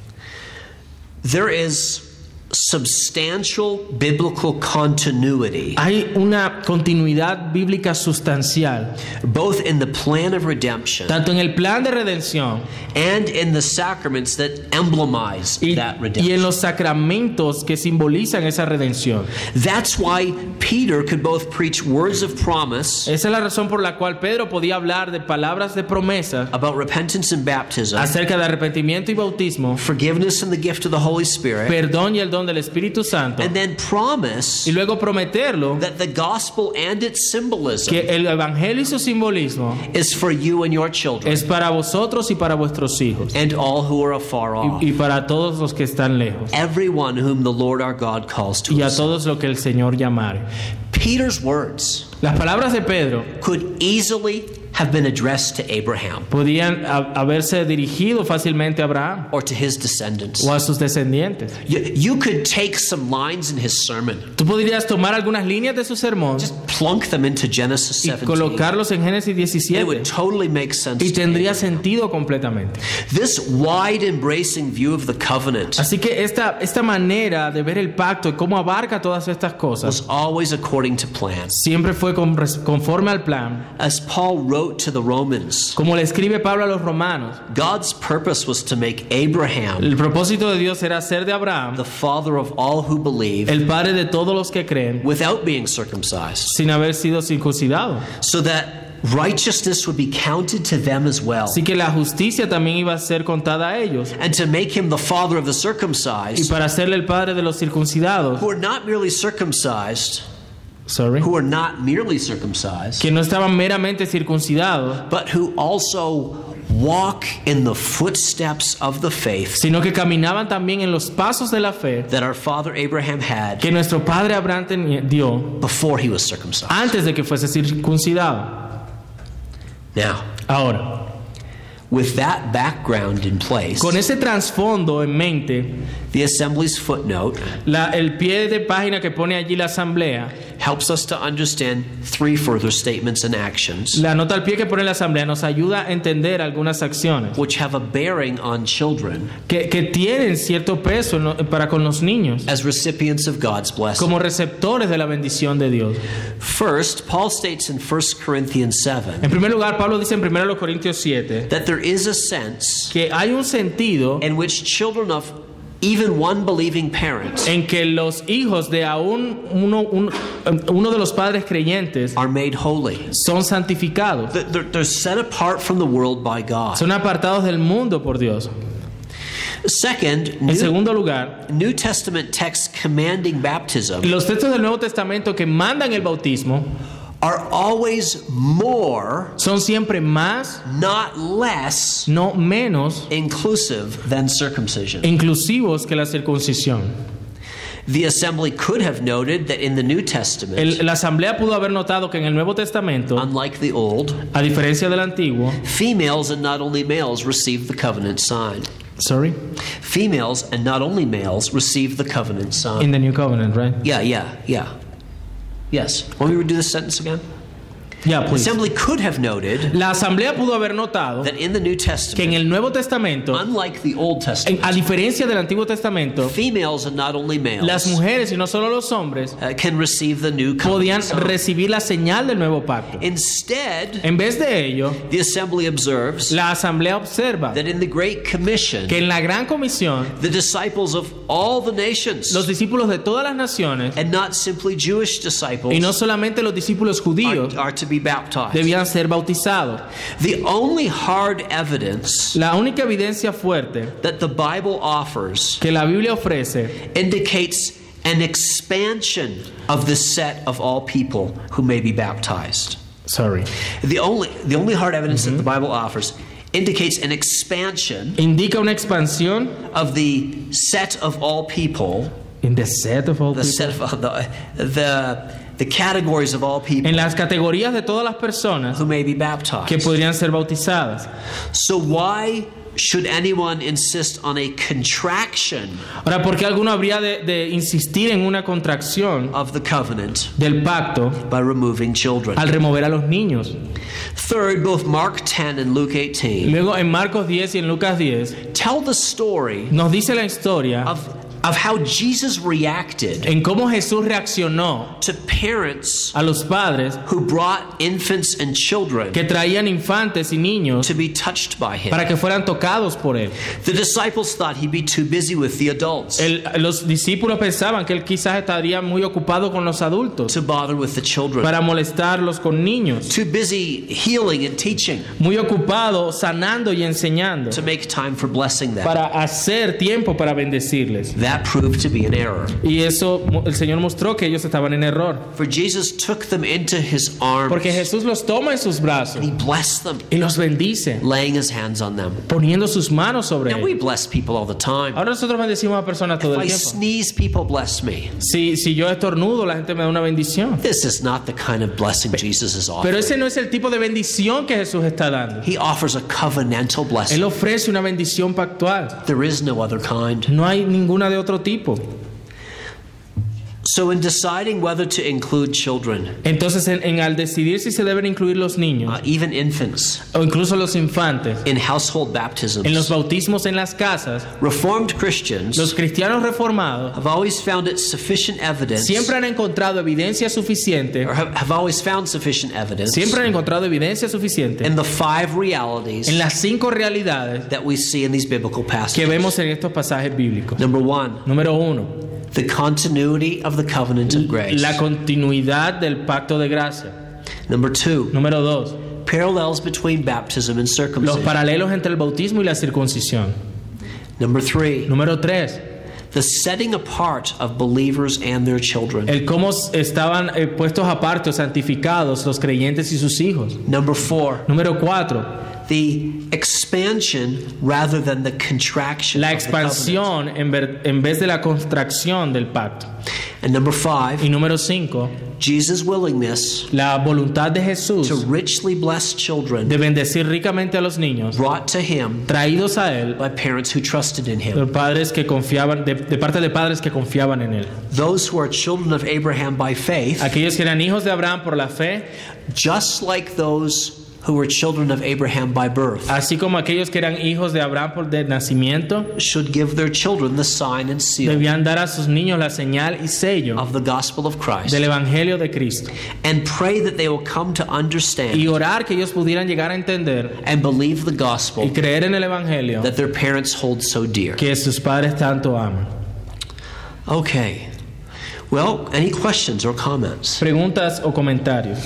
There is substantial biblical continuity. Hay una continuidad bíblica sustancial, both in the plan of redemption, tanto en el plan de redención, and in the sacraments that emblemize that redemption. Y en los sacramentos que simbolizan esa redención. That's why Peter could both preach words of promise. Esa es la razón por la cual Pedro podía hablar de palabras de promesa about repentance and baptism, acerca de arrepentimiento y bautismo, forgiveness and the gift of the Holy Spirit, perdón y el don del Espíritu Santo, and then promise, y luego prometerlo, that the gospel and its symbolism, que el evangelio y su simbolismo, is for you and your children, es para vosotros y para vuestros hijos, and all who are afar off, y para todos los que están lejos, everyone whom the Lord our God calls to y a himself. todos lo que el Señor llamare. Peter's words, las palabras de Pedro, could easily have been addressed to Abraham, podían haberse dirigido fácilmente a Abraham, or to his descendants, o a sus descendientes. You could take some lines in his sermon. Tú podrías tomar algunas líneas de su sermón, just plunk them into Genesis 17, y colocarlos en Génesis 17. It would totally make sense. Y tendría sentido completamente. This wide embracing view of the covenant, así que esta manera de ver el pacto y cómo abarca todas estas cosas, was always according to plan. Siempre fue conforme al plan. As Paul wrote wrote to the Romans, Como le escribe Pablo a los romanos, God's purpose was to make Abraham el propósito de Dios era hacer de Abraham the father of all who believe el padre de todos los que creen without being circumcised, sin haber sido circuncidado. so that righteousness would be counted to them as well, Así que la justicia también iba a ser contada a ellos. and to make him the father of the Y circumcised, para hacerle el padre de los circuncidados, who are not merely circumcised, who are not merely circumcised, que no estaban meramente circuncidados, but who also walk in the footsteps of the faith sino que caminaban también en los pasos de la fe that our father Abraham had que nuestro padre Abraham dio before he was circumcised. antes de que fuese circuncidado. Now, Ahora, with that background in place, con ese trasfondo en mente, the assembly's footnote el pie de página que pone allí la asamblea, helps us to understand three further statements and actions la nota al pie que pone la asamblea nos ayuda a entender algunas acciones which have a bearing on children que tienen cierto peso para con los niños as recipients of God's blessing. como receptores de la bendición de Dios. First, Paul states in 1 Corinthians 7 En primer lugar, Pablo dice en 1 Corintios 7 that there is a sense que hay un sentido in which children of even one believing parent en que los hijos de aún uno de los padres creyentes are made holy. son santificados, They're set apart from the world by God. son apartados del mundo por Dios. Second, En segundo lugar, New Testament texts commanding baptism los textos del Nuevo Testamento que mandan el bautismo are always more, son siempre más, not less, no menos, inclusive than circumcision. inclusivos que la circuncisión. The assembly could have noted that in the New Testament, La asamblea pudo haber notado que en el Nuevo Testamento, unlike the Old, a diferencia del Antiguo, females and not only males received the covenant sign. Females and not only males received the covenant sign. In the New Covenant, right? Yeah. Yes. Want me to do this sentence again? Yeah, The please. assembly could have noted La asamblea pudo haber notado that in the New que en Testament, el Nuevo Testamento, unlike the Old Testament, a diferencia del Antiguo Testamento, females and not only las males mujeres y no solo los hombres can receive the new podían covenant sign. recibir la señal del nuevo pacto. Instead, En vez de ello, the assembly observes la asamblea observa that in the Great Commission, que en la gran comisión the disciples of all the nations, los discípulos de todas las naciones and not simply Jewish disciples, y no solamente los discípulos judíos are to be baptized. debían ser bautizados. The only hard evidence La única evidencia fuerte that the Bible offers que la Biblia ofrece indicates an expansion of the set of all people who may be baptized. The only hard evidence that the Bible offers indicates an expansion indica una expansión of the set of all people, in the set of all the people. set of the categories of all people En las categorías de todas las personas who may be que baptized. podrían ser bautizadas. So why should anyone insist on a contraction Ahora, ¿por qué alguno habría de insistir en una contracción of the covenant del pacto by removing children? al remover a los niños? Third, both Mark 10 and Luke 18 Luego, en Marcos 10 y en Lucas 10, tell the story nos dice la historia of how Jesus reacted en cómo Jesús reaccionó to parents a los padres who brought infants and children que traían infantes y niños to be touched by him. para que fueran tocados por él. The disciples thought he'd be too busy with the adults Los discípulos pensaban que él quizás estaría muy ocupado con los adultos to bother with the children, para molestarlos con niños, too busy healing and teaching muy ocupado sanando y enseñando to make time for blessing them. para hacer tiempo para bendecirles. That proved to be an error. Y eso el Señor mostró que ellos estaban en error, For Jesus took them into his arms porque Jesús los toma en sus brazos and he blessed them, y los bendice, laying his hands on them. poniendo sus manos sobre Now we ellos. bless people all the time. Ahora nosotros bendecimos a personas todo If el I tiempo. sneeze, people bless me. Si yo estornudo, la gente me da una bendición. This is not the kind of blessing Jesus is Pero offering. ese no es el tipo de bendición que Jesús está dando. He offers a covenantal Él blessing. ofrece una bendición pactual. There is no other kind. No hay ninguna de otro tipo. So in deciding whether to include children, Entonces, al decidir si se deben incluir los niños, even infants, o incluso los infantes, in household baptisms, en los bautismos en las casas, Reformed Christians los cristianos reformados have always found it sufficient evidence, siempre han encontrado evidencia suficiente, or have always found sufficient evidence, siempre han encontrado evidencia suficiente in the 5 realities en las 5 realidades that we see in these biblical que passages. vemos en estos pasajes bíblicos. Number 1, Número 1, the continuity of the covenant of grace. la continuidad del pacto de gracia. Number 2, Número 2, parallels between baptism and los circumcision. paralelos entre el bautismo y la circuncisión. Number 3, Número 3, the setting apart of believers and their children. el cómo estaban puestos aparte o santificados los creyentes y sus hijos. Number 4, Número 4, the expansion rather than the contraction la of the covenant. expansión en vez de la contracción del pacto. And number 5, Y número 5, Jesus' willingness la voluntad de Jesús to richly bless children de bendecir ricamente a los niños, brought to him traídos a él by parents who trusted in him. de padres que confiaban, de parte de padres que confiaban en él. Those who are children of Abraham by faith, Aquellos que eran hijos de Abraham por la fe, just like those who were children of Abraham by birth, así como aquellos que eran hijos de Abraham por de nacimiento, should give their children the sign and seal debían dar a sus niños la señal y sello of the gospel of Christ, del Evangelio de Cristo and pray that they will come to understand y orar que ellos pudieran llegar a entender and believe the gospel y creer en el Evangelio that their parents hold so dear. que sus padres tanto aman. Okay. Well, any questions or comments? Preguntas o comentarios.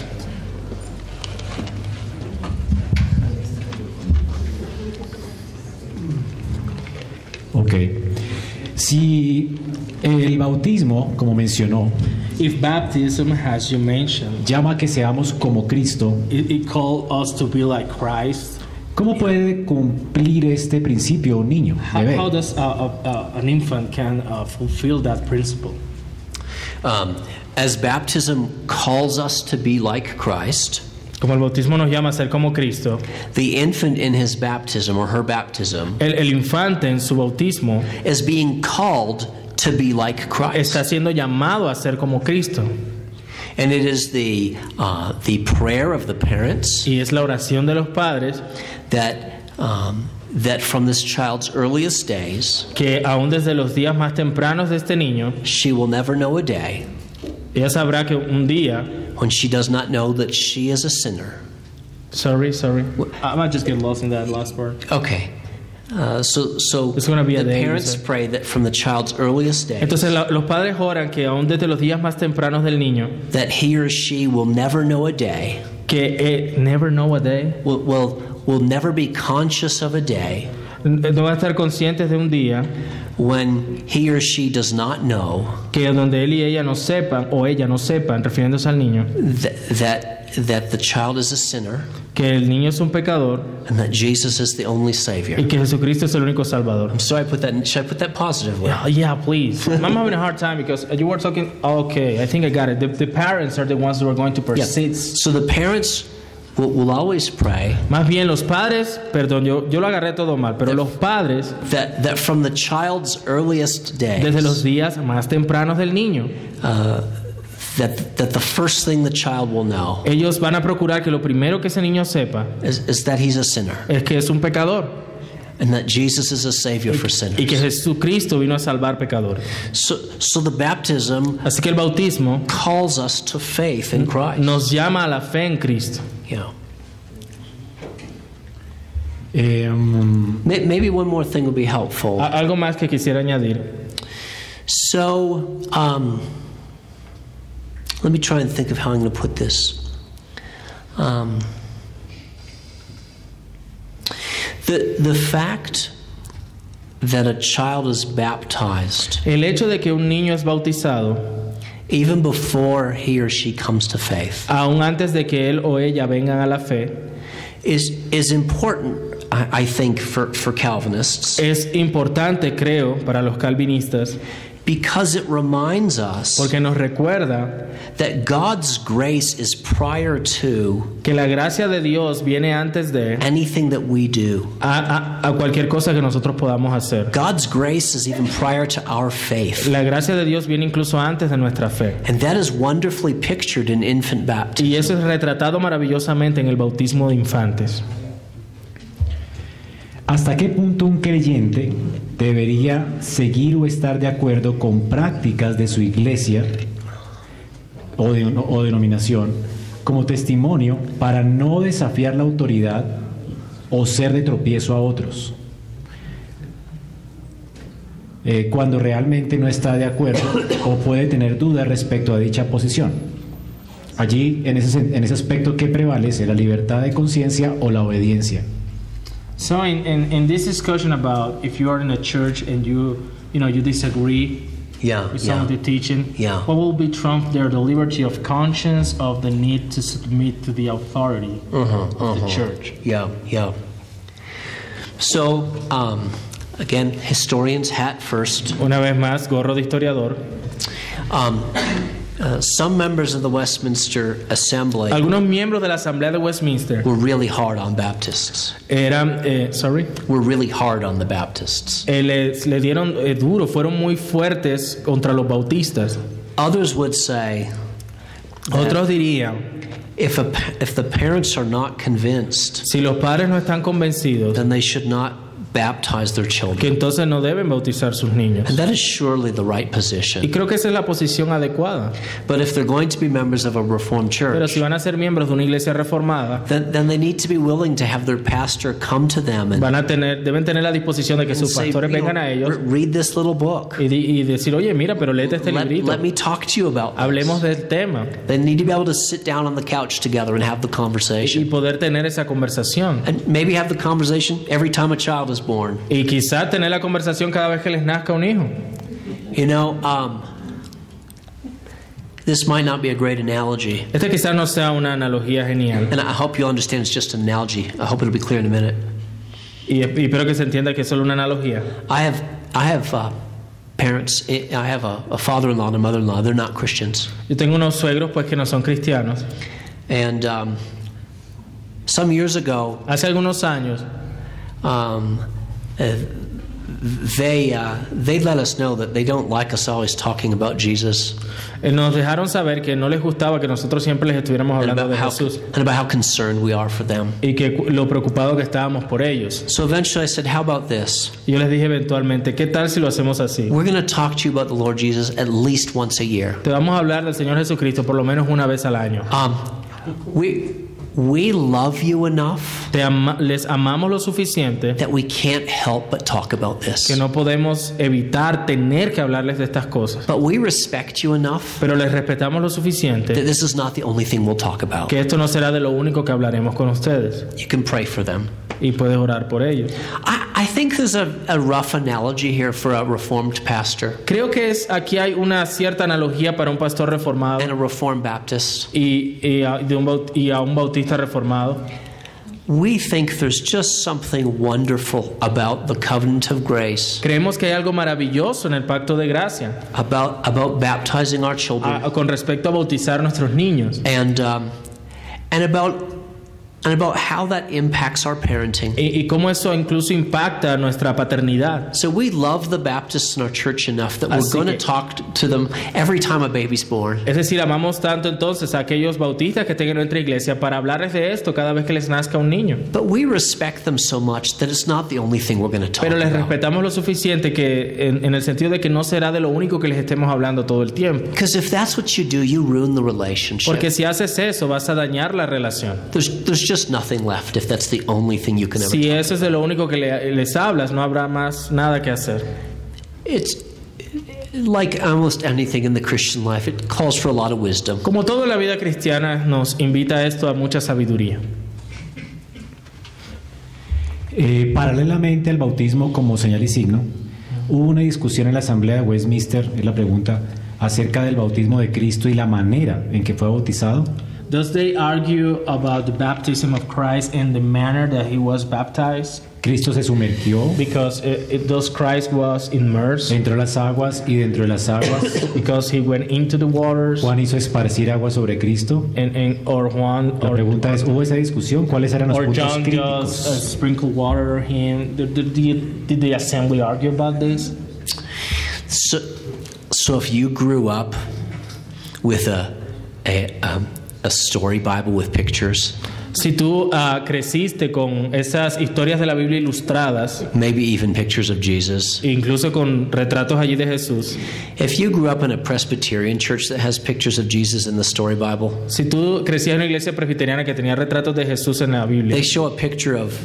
Ok. Si el bautismo, como mencionó, If baptism, as you mentioned, llama a que seamos como Cristo, it calls us to be like Christ, ¿cómo puede cumplir este principio un niño? Bebé? how does an infant can fulfill that principle? As baptism calls us to be like Christ, Como el bautismo nos llama a ser como Cristo, the infant in his baptism or her baptism el infante en su bautismo is being called to be like Christ. está siendo llamado a ser como Cristo. And it is the prayer of the parents Y es la oración de los padres that from this child's earliest days, que aún desde los días más tempranos de este niño, she will never know a day ella sabrá que un día, when she does not know that she is a sinner. sorry, I might just get lost in that last part. Okay. So It's gonna be a the day, parents you say. pray that from the child's earliest days, Entonces los padres oran que aún desde los días más tempranos del niño, that he or she will never know a day, que never know a day, will never be conscious of a day no van a estar conscientes de un día when he or she does not know que donde él y ella no sepan, o ella no sepan, refiriéndose al niño, that the child is a sinner que el niño es un pecador and that Jesus is the only Savior. y que Jesucristo es el único Salvador. So should I put that positively? Yeah, please. I'm having a hard time because you were talking. Okay, I think I got it. The parents are the ones who are going to persist. So the parents will always pray Más bien los padres, perdón, yo lo agarré todo mal, pero los padres that from the child's earliest days, desde los días más tempranos del niño, that the first thing the child will know ellos van a procurar que lo primero que ese niño sepa is that he's a sinner es que es un pecador and that Jesus is a Savior for sinners. y que Jesucristo vino a salvar pecadores. So the baptism Así que el bautismo calls us to faith in Christ. nos llama a la fe en Cristo. Yeah. Em, Maybe one more thing would be helpful. Algo más que quisiera añadir. So, let me try and think of how I'm going to put this. The fact that a child is baptized, El hecho de que un niño es bautizado, even before he or she comes to faith, aún antes de que él o ella vengan a la fe, is important, I think, for Calvinists, es importante, creo, para los calvinistas, because it reminds us porque nos recuerda that God's grace is prior to que la gracia de Dios viene antes de anything that we do. a cualquier cosa que nosotros podamos hacer. God's grace is even prior to our faith. La gracia de Dios viene incluso antes de nuestra fe. And that is wonderfully pictured in infant baptism. Y eso es retratado maravillosamente en el bautismo de infantes. ¿Hasta qué punto un creyente debería seguir o estar de acuerdo con prácticas de su iglesia o denominación como testimonio para no desafiar la autoridad o ser de tropiezo a otros? Cuando realmente no está de acuerdo o puede tener dudas respecto a dicha posición. Allí, en ese aspecto, ¿qué prevalece? ¿La libertad de conciencia o la obediencia? So in this discussion about if you are in a church and you disagree with some of the teaching, what will be trumped there? The liberty of conscience, of the need to submit to the authority of the church. So, again, historian's hat first. Una vez más, gorro de historiador. Some members of the Westminster Assembly Algunos miembros de la Asamblea de Westminster were really hard on Baptists. Were really hard on the Baptists. Le dieron duro, fueron muy fuertes contra los bautistas. Others would say, otros dirían, if the parents are not convinced, si los padres no están convencidos, then they should not baptize their children. Que entonces no deben bautizar sus niños. And that is surely the right position. Y creo que esa es la posición adecuada. But if they're going to be members of a Reformed church, pero si van a ser miembros de una iglesia reformada, then they need to be willing to have their pastor come to them and deben tener la disposición de que sus pastores vengan a ellos. Read this little book. Y decir, oye, mira, pero léete este librito. Let me talk to you about this. Hablemos del tema. They need to be able to sit down on the couch together and have the conversation. Y poder tener esa conversación. And maybe have the conversation every time a child is born. Y quizá tener la conversación cada vez que les nazca un hijo. You know, this might not be a great analogy. Este quizás no sea una analogía genial. And I hope you understand it's just an analogy. I hope it'll be clear in a minute. Y espero que se entienda que es solo una analogía. I have parents. I have a father-in-law and a mother-in-law. They're not Christians. Yo tengo unos suegros pues que no son cristianos. And some years ago, hace algunos años, they let us know that they don't like us always talking about Jesus. Nos dejaron saber que no les gustaba que nosotros siempre les estuviéramos hablando de Jesús. And about how concerned we are for them. Y que lo preocupado que estábamos por ellos. So eventually I said, how about this? Yo les dije eventualmente, ¿qué tal si lo hacemos así? We're going to talk to you about the Lord Jesus at least once a year. Te vamos a hablar del Señor Jesucristo por lo menos una vez al año. We love you enough les amamos lo suficiente that we can't help but talk about this. Que no podemos evitar tener que hablarles de estas cosas. But we respect you enough pero les respetamos lo suficiente that this is not the only thing we'll talk about. Que esto no será de lo único que hablaremos con ustedes. You can pray for them. Y puedes orar por ellos. I think there's a rough analogy here for a Reformed pastor. Creo que aquí hay una cierta analogía para un pastor reformado and a Reformed Baptist. Y a un bautista reformado. We think there's just something wonderful about the covenant of grace. Creemos que hay algo maravilloso en el pacto de gracia. About baptizing our children. Con respecto a bautizar nuestros niños. And about how that impacts our parenting. Y cómo eso incluso impacta nuestra paternidad. So we love the Baptists in our church enough that we're going to talk to them every time a baby's born. Es decir, amamos tanto entonces a aquellos bautistas que estén en nuestra iglesia para hablarles de esto cada vez que les nazca un niño. But we respect them so much that it's not the only thing we're going to talk Pero les about. respetamos lo suficiente que en el sentido de que no será de lo único que les estemos hablando todo el tiempo. Because if that's what you do, you ruin the relationship. Porque si haces eso, vas a dañar la relación. There's just nothing left if that's the only thing you can ever Si eso es de lo único que les hablas, no habrá más nada que hacer. It's like almost anything in the Christian life, it calls for a lot of wisdom. Como todo en la vida cristiana, nos invita a esto a mucha sabiduría. Paralelamente al bautismo como señal y signo, hubo una discusión en la Asamblea de Westminster, es la pregunta, acerca del bautismo de Cristo y la manera en que fue bautizado. Does they argue about the baptism of Christ and the manner that he was baptized? Cristo se sumergió. Because does Christ was immersed? Entró a las aguas y dentro de las aguas. Because he went into the waters. Juan hizo esparcir agua sobre Cristo. Or Juan. La pregunta es, ¿hubo esa discusión? ¿Cuáles eran los puntos John críticos? Just sprinkle water on him. Did the assembly argue about this? So if you grew up with a story Bible with pictures, si tú creciste con esas historias de la Biblia ilustradas, maybe even pictures of Jesus, incluso con retratos allí de Jesús. If you grew up in a Presbyterian church that has pictures of Jesus in the story Bible, si tú crecías en una iglesia presbiteriana que tenía retratos de Jesús en la Biblia, they show a picture of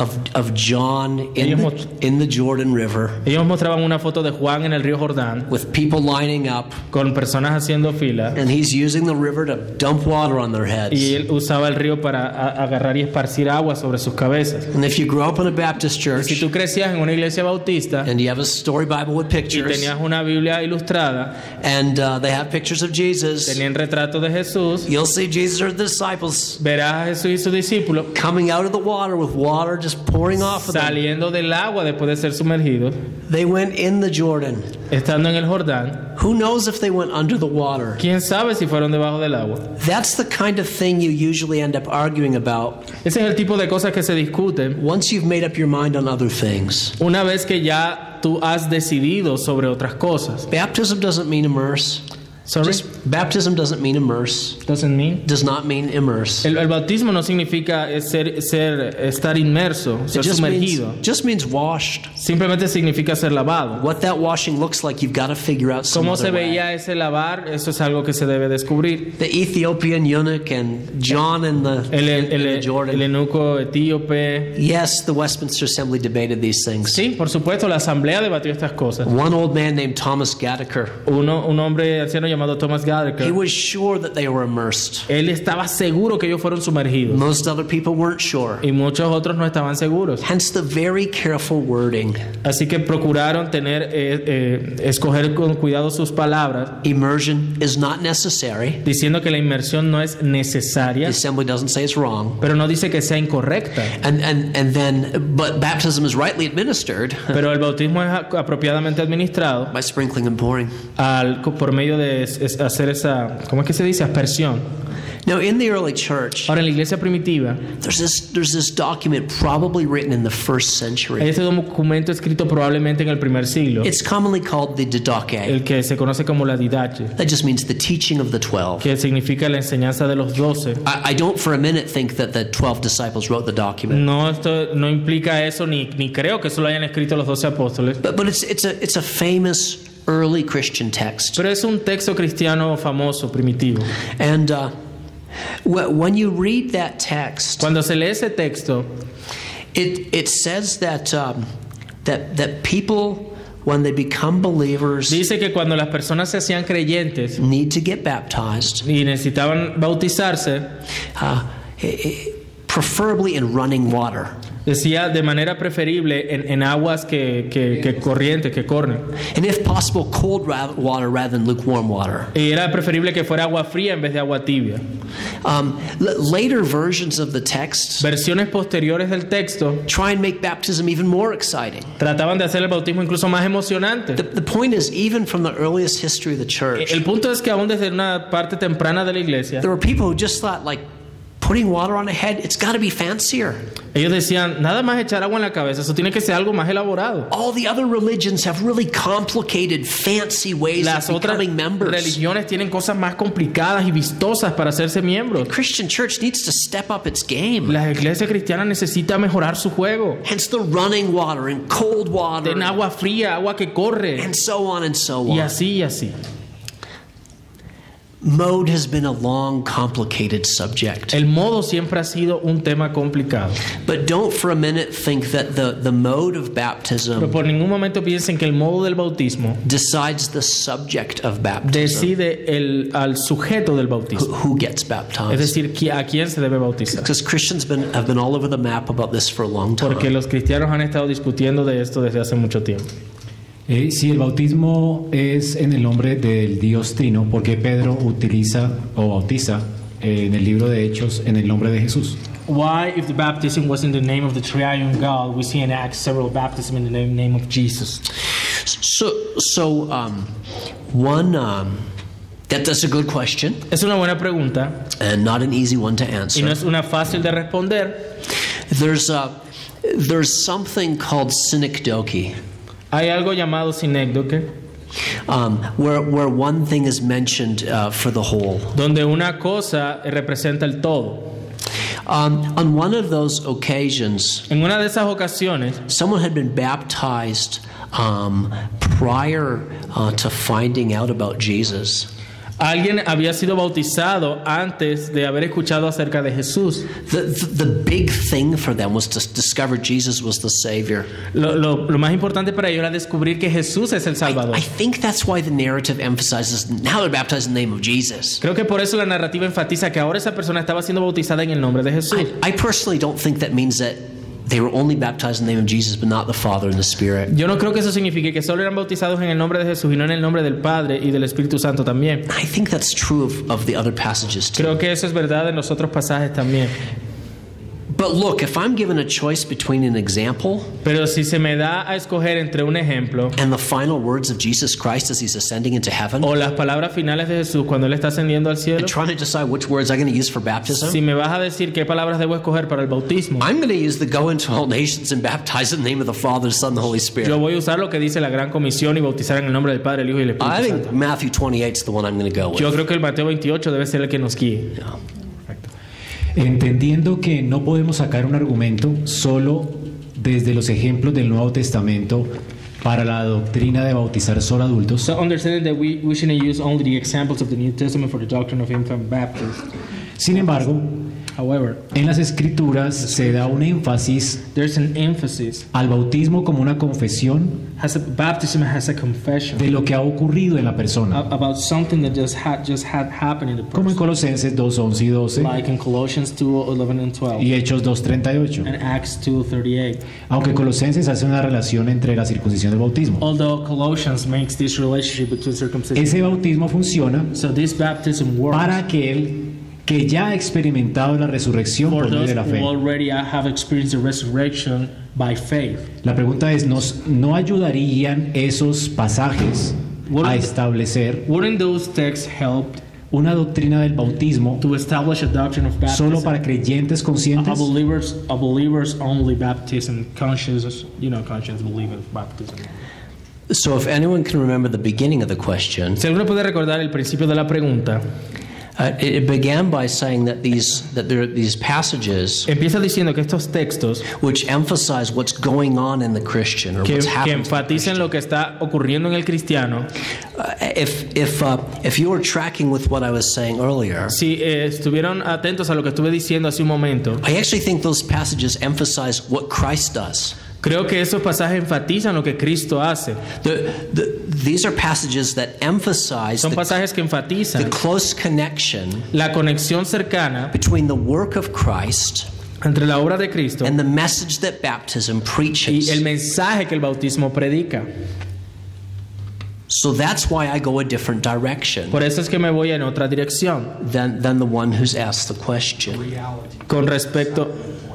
John in the Jordan River. Ellos mostraban una foto de Juan en el río Jordán, with people lining up, con personas haciendo fila, and he's using the river to dump water on their heads. Y él usaba el río para agarrar y esparcir agua sobre sus cabezas. And if you grew up in a Baptist church, y si tú crecías en una iglesia bautista, and you have a story Bible with pictures, y tenías una Biblia ilustrada, and they have pictures of Jesus, tenían retratos de Jesús, you'll see Jesus or the disciples, verás a Jesús y sus discípulos coming out of the water with water just pouring off of them. Saliendo del agua después de ser sumergidos. They went in the Jordan. Estando en el Jordán. Who knows if they went under the water? ¿Quién sabe si fueron debajo del agua? That's the kind of thing you usually end up arguing about. Ese es el tipo de cosas que se discuten. Once you've made up your mind on other things. Una vez que ya tú has decidido sobre otras cosas. Baptism doesn't mean immerse. Sorry? Baptism doesn't mean immerse. Does not mean immerse. El bautismo no significa estar inmerso, ser sumergido. Just means washed. Simplemente significa ser lavado. What that washing looks like, you've got to figure out some ¿Cómo other se veía way. ese lavar? Eso es algo que se debe descubrir. The Ethiopian eunuch and John in the Jordan. El eunuco etíope. Yes, the Westminster Assembly debated these things. Sí, por supuesto, la asamblea debatió estas cosas. One old man named Thomas Gattaker. Un hombre anciano llamado Thomas Gattaker. He was sure that they were immersed. Él estaba seguro que ellos fueron sumergidos. Most other people weren't sure. Y muchos otros no estaban seguros. Hence the very careful wording. Así que procuraron escoger con cuidado sus palabras. Immersion is not necessary. Diciendo que la inmersión no es necesaria. The assembly doesn't say it's wrong. Pero no dice que sea incorrecta. But baptism is rightly administered. Pero el bautismo es apropiadamente administrado. By sprinkling and pouring. Por medio de hacer esa, ¿cómo es que se dice? Aspersión. Now, in the early church, ahora en la iglesia primitiva, there's this document probably written in the first century. Este documento escrito probablemente en el primer siglo. It's commonly called the Didache. El que se conoce como la Didache. That just means the teaching of the 12. Que significa la enseñanza de los 12. I don't for a minute think that the 12 disciples wrote the document. No, esto no implica eso ni creo que eso lo hayan escrito los 12 apóstoles. But it's a famous early Christian text. Pero es un texto cristiano famoso, primitivo. And when you read that text, cuando se lee ese texto, it says that people, when they become believers, dice que cuando las personas se hacían creyentes, need to get baptized, y necesitaban bautizarse, preferably in running water. Decía de manera preferible en aguas que corrientes, que corren. And if possible, cold water rather than lukewarm water. Y era preferible que fuera agua fría en vez de agua tibia. Later versions of the text, versiones posteriores del texto, try and make baptism even more exciting. Trataban de hacer el bautismo incluso más emocionante. The point is, even from the earliest history of the church, el punto es que aún desde una parte temprana de la iglesia, there were people who just thought, like, putting water on a head, it's got to be fancier. Ellos decían, nada más echar agua en la cabeza, eso tiene que ser algo más elaborado. All the other religions have really complicated, fancy ways Las of becoming members. Las religiones tienen cosas más complicadas y vistosas para hacerse miembros. The Christian church needs to step up its game. La iglesia cristiana necesita mejorar su juego. Hence the running water and cold water. Den agua fría, agua que corre. And so on and so on. Y así y así. Mode has been a long, complicated subject. El modo siempre ha sido un tema complicado. But don't for a minute think that the mode of baptism Pero por ningún momento piensen que el modo del bautismo decides the subject of baptism. Decide al sujeto del bautismo. Who gets baptized. Es decir, a quién se debe bautizar. Because Christians have been all over the map about this for a long time. Porque los cristianos han estado discutiendo de esto desde hace mucho tiempo. Si el bautismo es en el nombre del Dios Trino, ¿por qué Pedro utiliza o bautiza en el libro de Hechos en el nombre de Jesús? Why, if the baptism was in the name of the triune God, we see in Acts several baptisms in the name of Jesus? That's a good question. Es una buena pregunta. And not an easy one to answer. Y no es una fácil de responder. There's something called synecdoche. Hay algo llamado sinécdoque. Where one thing is mentioned for the whole. Donde una cosa representa el todo. On one of those occasions, en una de esas ocasiones, someone had been baptized prior to finding out about Jesus. Alguien había sido bautizado antes de haber escuchado acerca de Jesús. The big thing for them was to discover Jesus was the Savior. Lo más importante para ellos era descubrir que Jesús es el Salvador. I think that's why the narrative emphasizes now they're baptized in the name of Jesus. Creo que por eso la narrativa enfatiza que ahora esa persona estaba siendo bautizada en el nombre de Jesús. I personally don't think that means that they were only baptized in the name of Jesus, but not the Father and the Spirit. Yo no creo que eso signifique que solo eran bautizados en el nombre de Jesús y no en el nombre del Padre y del Espíritu Santo también. I think that's true of the other passages too. Creo que eso es verdad en los otros pasajes también. But look, if I'm given a choice between an example, pero si se me da a escoger entre un ejemplo and the final words of Jesus Christ as he's ascending into heaven, o las palabras finales de Jesús cuando él está ascendiendo al cielo, and trying to decide which words I'm going to use for baptism, si me vas a decir qué palabras debo escoger para el bautismo, I'm going to use the go into all nations and baptize in the name of the Father, the Son, and the Holy Spirit. Yo voy a usar lo que dice la gran comisión y bautizar en el nombre del Padre, el Hijo y el Espíritu I Santo. think Matthew 28 is the one I'm going to go with. Yo creo que el Mateo 28 debe ser el que nos guíe. Yeah. Entendiendo que no podemos sacar un argumento solo desde los ejemplos del Nuevo Testamento para la doctrina de bautizar solo adultos. So understanding that we shouldn't use only the examples of the New Testament for the doctrine of infant baptism. Sin embargo, however, en las Escrituras se da un énfasis there's an emphasis al bautismo como una confesión baptism has a confession de lo que ha ocurrido en la persona, about something that just had happened in the person. como en Colosenses 2:11 y 12, like in Colossians 2:11 and 12, y Hechos 2:38. and Acts 2:38. Aunque Colosenses hace una relación entre la circuncisión y el bautismo. Although Colossians makes this relationship between circumcision. Ese bautismo funciona So this baptism works para aquel que ya ha experimentado la resurrección por medio de la fe. who already have experienced the resurrection by faith. La pregunta es, ¿no ayudarían esos pasajes a establecer Wouldn't those texts help una doctrina del bautismo to establish a doctrine of baptism? solo para creyentes conscientes? A believers only baptism, conscious believers baptism. So if anyone can remember the beginning of the question, Si alguno puede recordar el principio de la pregunta, it began by saying that there are these passages empieza diciendo que estos textos which emphasize what's going on in the Christian or que what's happening. enfatizan lo que está ocurriendo en el cristiano. If you were tracking with what I was saying earlier, Si estuvieron atentos a lo que estuve diciendo hace un momento, I actually think those passages emphasize what Christ does. creo que esos pasajes enfatizan lo que Cristo hace. These are passages that emphasize Son the pasajes que enfatizan close connection la conexión cercana between the work of Christ entre la obra de Cristo and the message that baptism y preaches. el mensaje que el bautismo predica. So that's why I go a different direction Por eso es que me voy en otra dirección than the one who's asked the question. con respecto.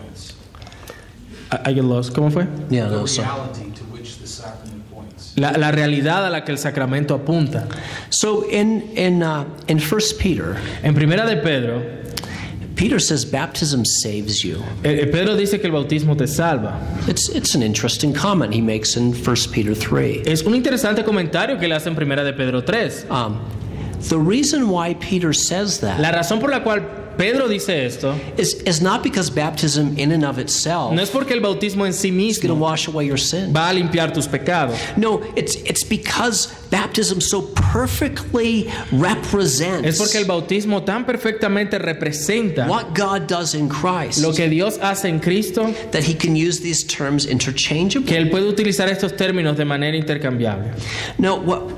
I get lost. ¿Cómo fue? Yeah, no, so. La realidad a la que el sacramento apunta. So in 1 Peter, En Primera de Pedro, Peter says baptism saves you. Pedro dice que el bautismo te salva. It's an interesting comment he makes in 1 Peter 3. Es un interesante comentario que le hace en Primera de Pedro 3. The reason why Peter says that La razón por la cual Pedro dice esto is not because baptism in and of itself no es porque el bautismo en sí is going to mismo wash away your sin. va a limpiar tus pecados. No, it's because baptism so perfectly represents Es porque el bautismo tan perfectamente representa what God does in Christ lo que Dios hace en Cristo, that he can use these terms que interchangeably. Él puede utilizar estos términos de manera intercambiable. Now,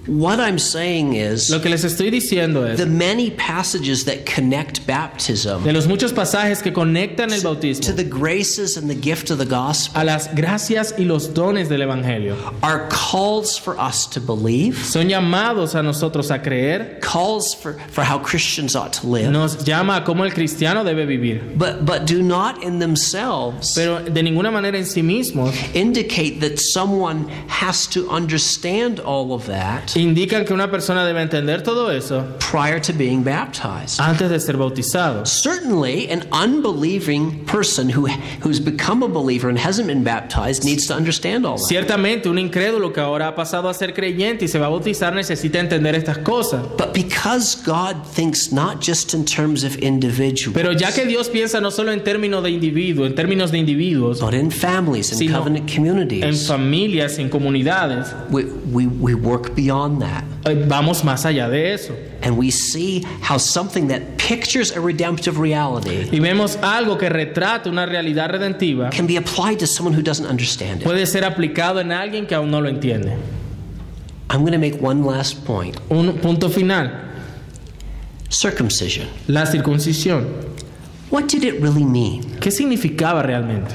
What I'm saying is, Lo que les estoy diciendo es, the many passages that connect baptism de los muchos pasajes que conectan el to bautismo the graces and the gift of the gospel a las gracias y los dones del Evangelio, are calls for us to believe, son llamados a nosotros a creer, calls for how Christians ought to live, nos llama a cómo el cristiano debe vivir, but do not in themselves pero de ninguna manera en sí mismos indicate that someone has to understand all of that indican que una persona debe entender todo eso prior to being baptized. antes de ser bautizado. Certainly, an unbelieving person who's become a believer and hasn't been baptized needs to understand all that. Ciertamente, un incrédulo que ahora ha pasado a ser creyente y se va a bautizar necesita entender estas cosas. But because God thinks not just in terms of individuals, Pero ya que Dios piensa no solo en términos de individuos, but in families and sino covenant en communities, familias, en comunidades, we work beyond that. vamos más allá de eso. And we see how something that pictures a redemptive reality Y vemos algo que retrata una realidad redentiva can be applied to someone who doesn't understand it. puede ser aplicado en alguien que aún no lo entiende. I'm going to make one last point. Un punto final, Circumcision. la circuncisión. What did it really mean? ¿Qué significaba realmente?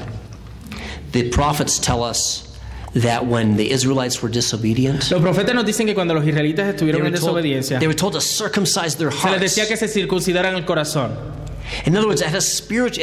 The prophets tell us that when the Israelites were disobedient, Los profetas nos dicen que cuando los israelitas estuvieron en desobediencia, they were told to circumcise their se les hearts. decía que se circuncidaran el corazón. In other words, it had a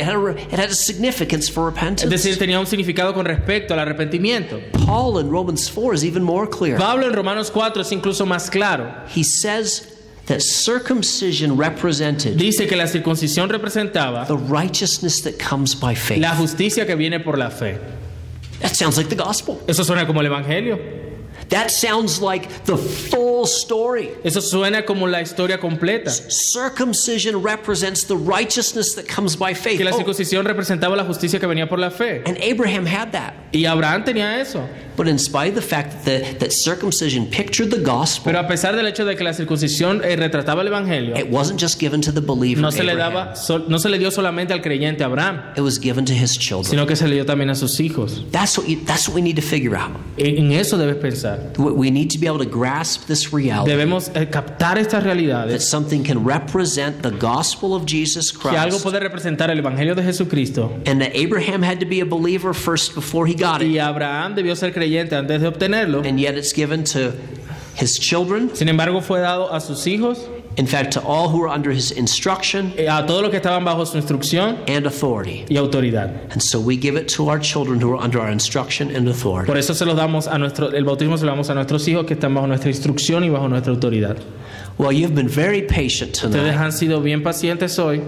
it had a significance for Es repentance. decir, tenía un significado con respecto al arrepentimiento. Paul in Romans 4 is even more clear. Pablo en Romanos 4 es incluso más claro. He says that circumcision represented Dice que la circuncisión representaba the righteousness that comes by faith. la justicia que viene por la fe. That sounds like the gospel. Eso suena como el evangelio. That sounds like the full story. Eso suena como la historia completa. Circumcision represents the righteousness that comes by faith. Que la Oh, circuncisión representaba la justicia que venía por la fe. and Abraham had that. Y Abraham tenía eso. But in spite of the fact that circumcision pictured the gospel, Pero a pesar del hecho de que la circuncisión retrataba el evangelio, it wasn't just given to the believer no se le Abraham. no se le dio solamente al creyente Abraham, It was given to his children. sino que se le dio también a sus hijos. That's what we need to figure out. En eso debes pensar. We need to be able to grasp this reality Debemos captar estas that realidades, something can represent the gospel of Jesus que algo Christ, puede representar el evangelio de Jesucristo. and that Abraham had to be a believer first before he got it, Y Abraham debió ser creyente antes de obtenerlo. and yet it's given to his children. Sin embargo, fue dado a sus hijos, In fact, to all who are under his instruction a todos los que estaban bajo su instrucción and authority. y autoridad. And so we give it to our children who are under our instruction and authority. Por eso se los damos el bautismo se lo damos a nuestros hijos que están bajo nuestra instrucción y bajo nuestra autoridad. Well, you've been very patient Ustedes tonight, han sido bien pacientes hoy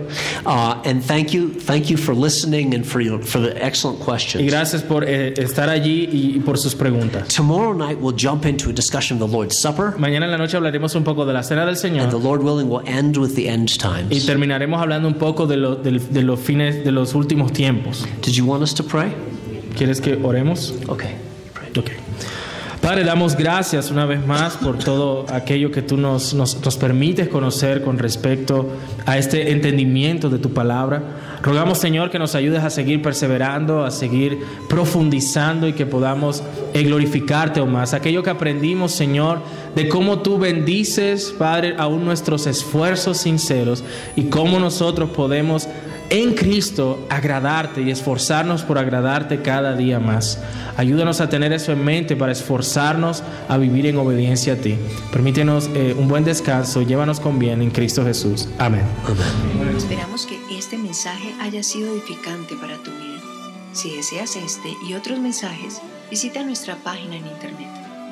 and thank you for listening and for the excellent y questions. gracias por estar allí y por sus preguntas. Tomorrow night we'll jump into a discussion of the Lord's Supper, Mañana en la noche hablaremos un poco de la cena del and the Señor Lord willing we'll end with the end y times. terminaremos hablando un poco de los fines de los últimos tiempos. Did you want us to pray? ¿Quieres que oremos? Okay. Ok. Padre, damos gracias una vez más por todo aquello que tú nos permites conocer con respecto a este entendimiento de tu palabra. Rogamos, Señor, que nos ayudes a seguir perseverando, a seguir profundizando y que podamos glorificarte aún más. Aquello que aprendimos, Señor, de cómo tú bendices, Padre, aún nuestros esfuerzos sinceros y cómo nosotros podemos en Cristo agradarte y esforzarnos por agradarte cada día más. Ayúdanos a tener eso en mente para esforzarnos a vivir en obediencia a ti. Permítenos un buen descanso. Llévanos con bien en Cristo Jesús. Amén. Esperamos que este mensaje haya sido edificante para tu vida. Si deseas este y otros mensajes, visita nuestra página en internet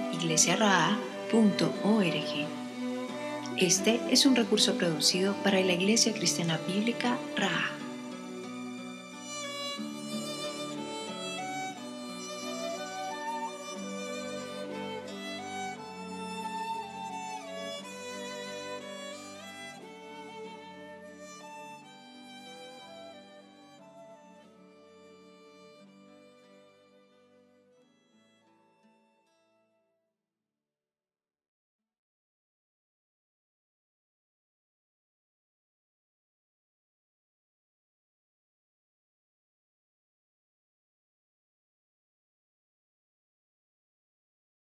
iglesiaraa.org. Este es un recurso producido para la Iglesia Cristiana Bíblica Raha.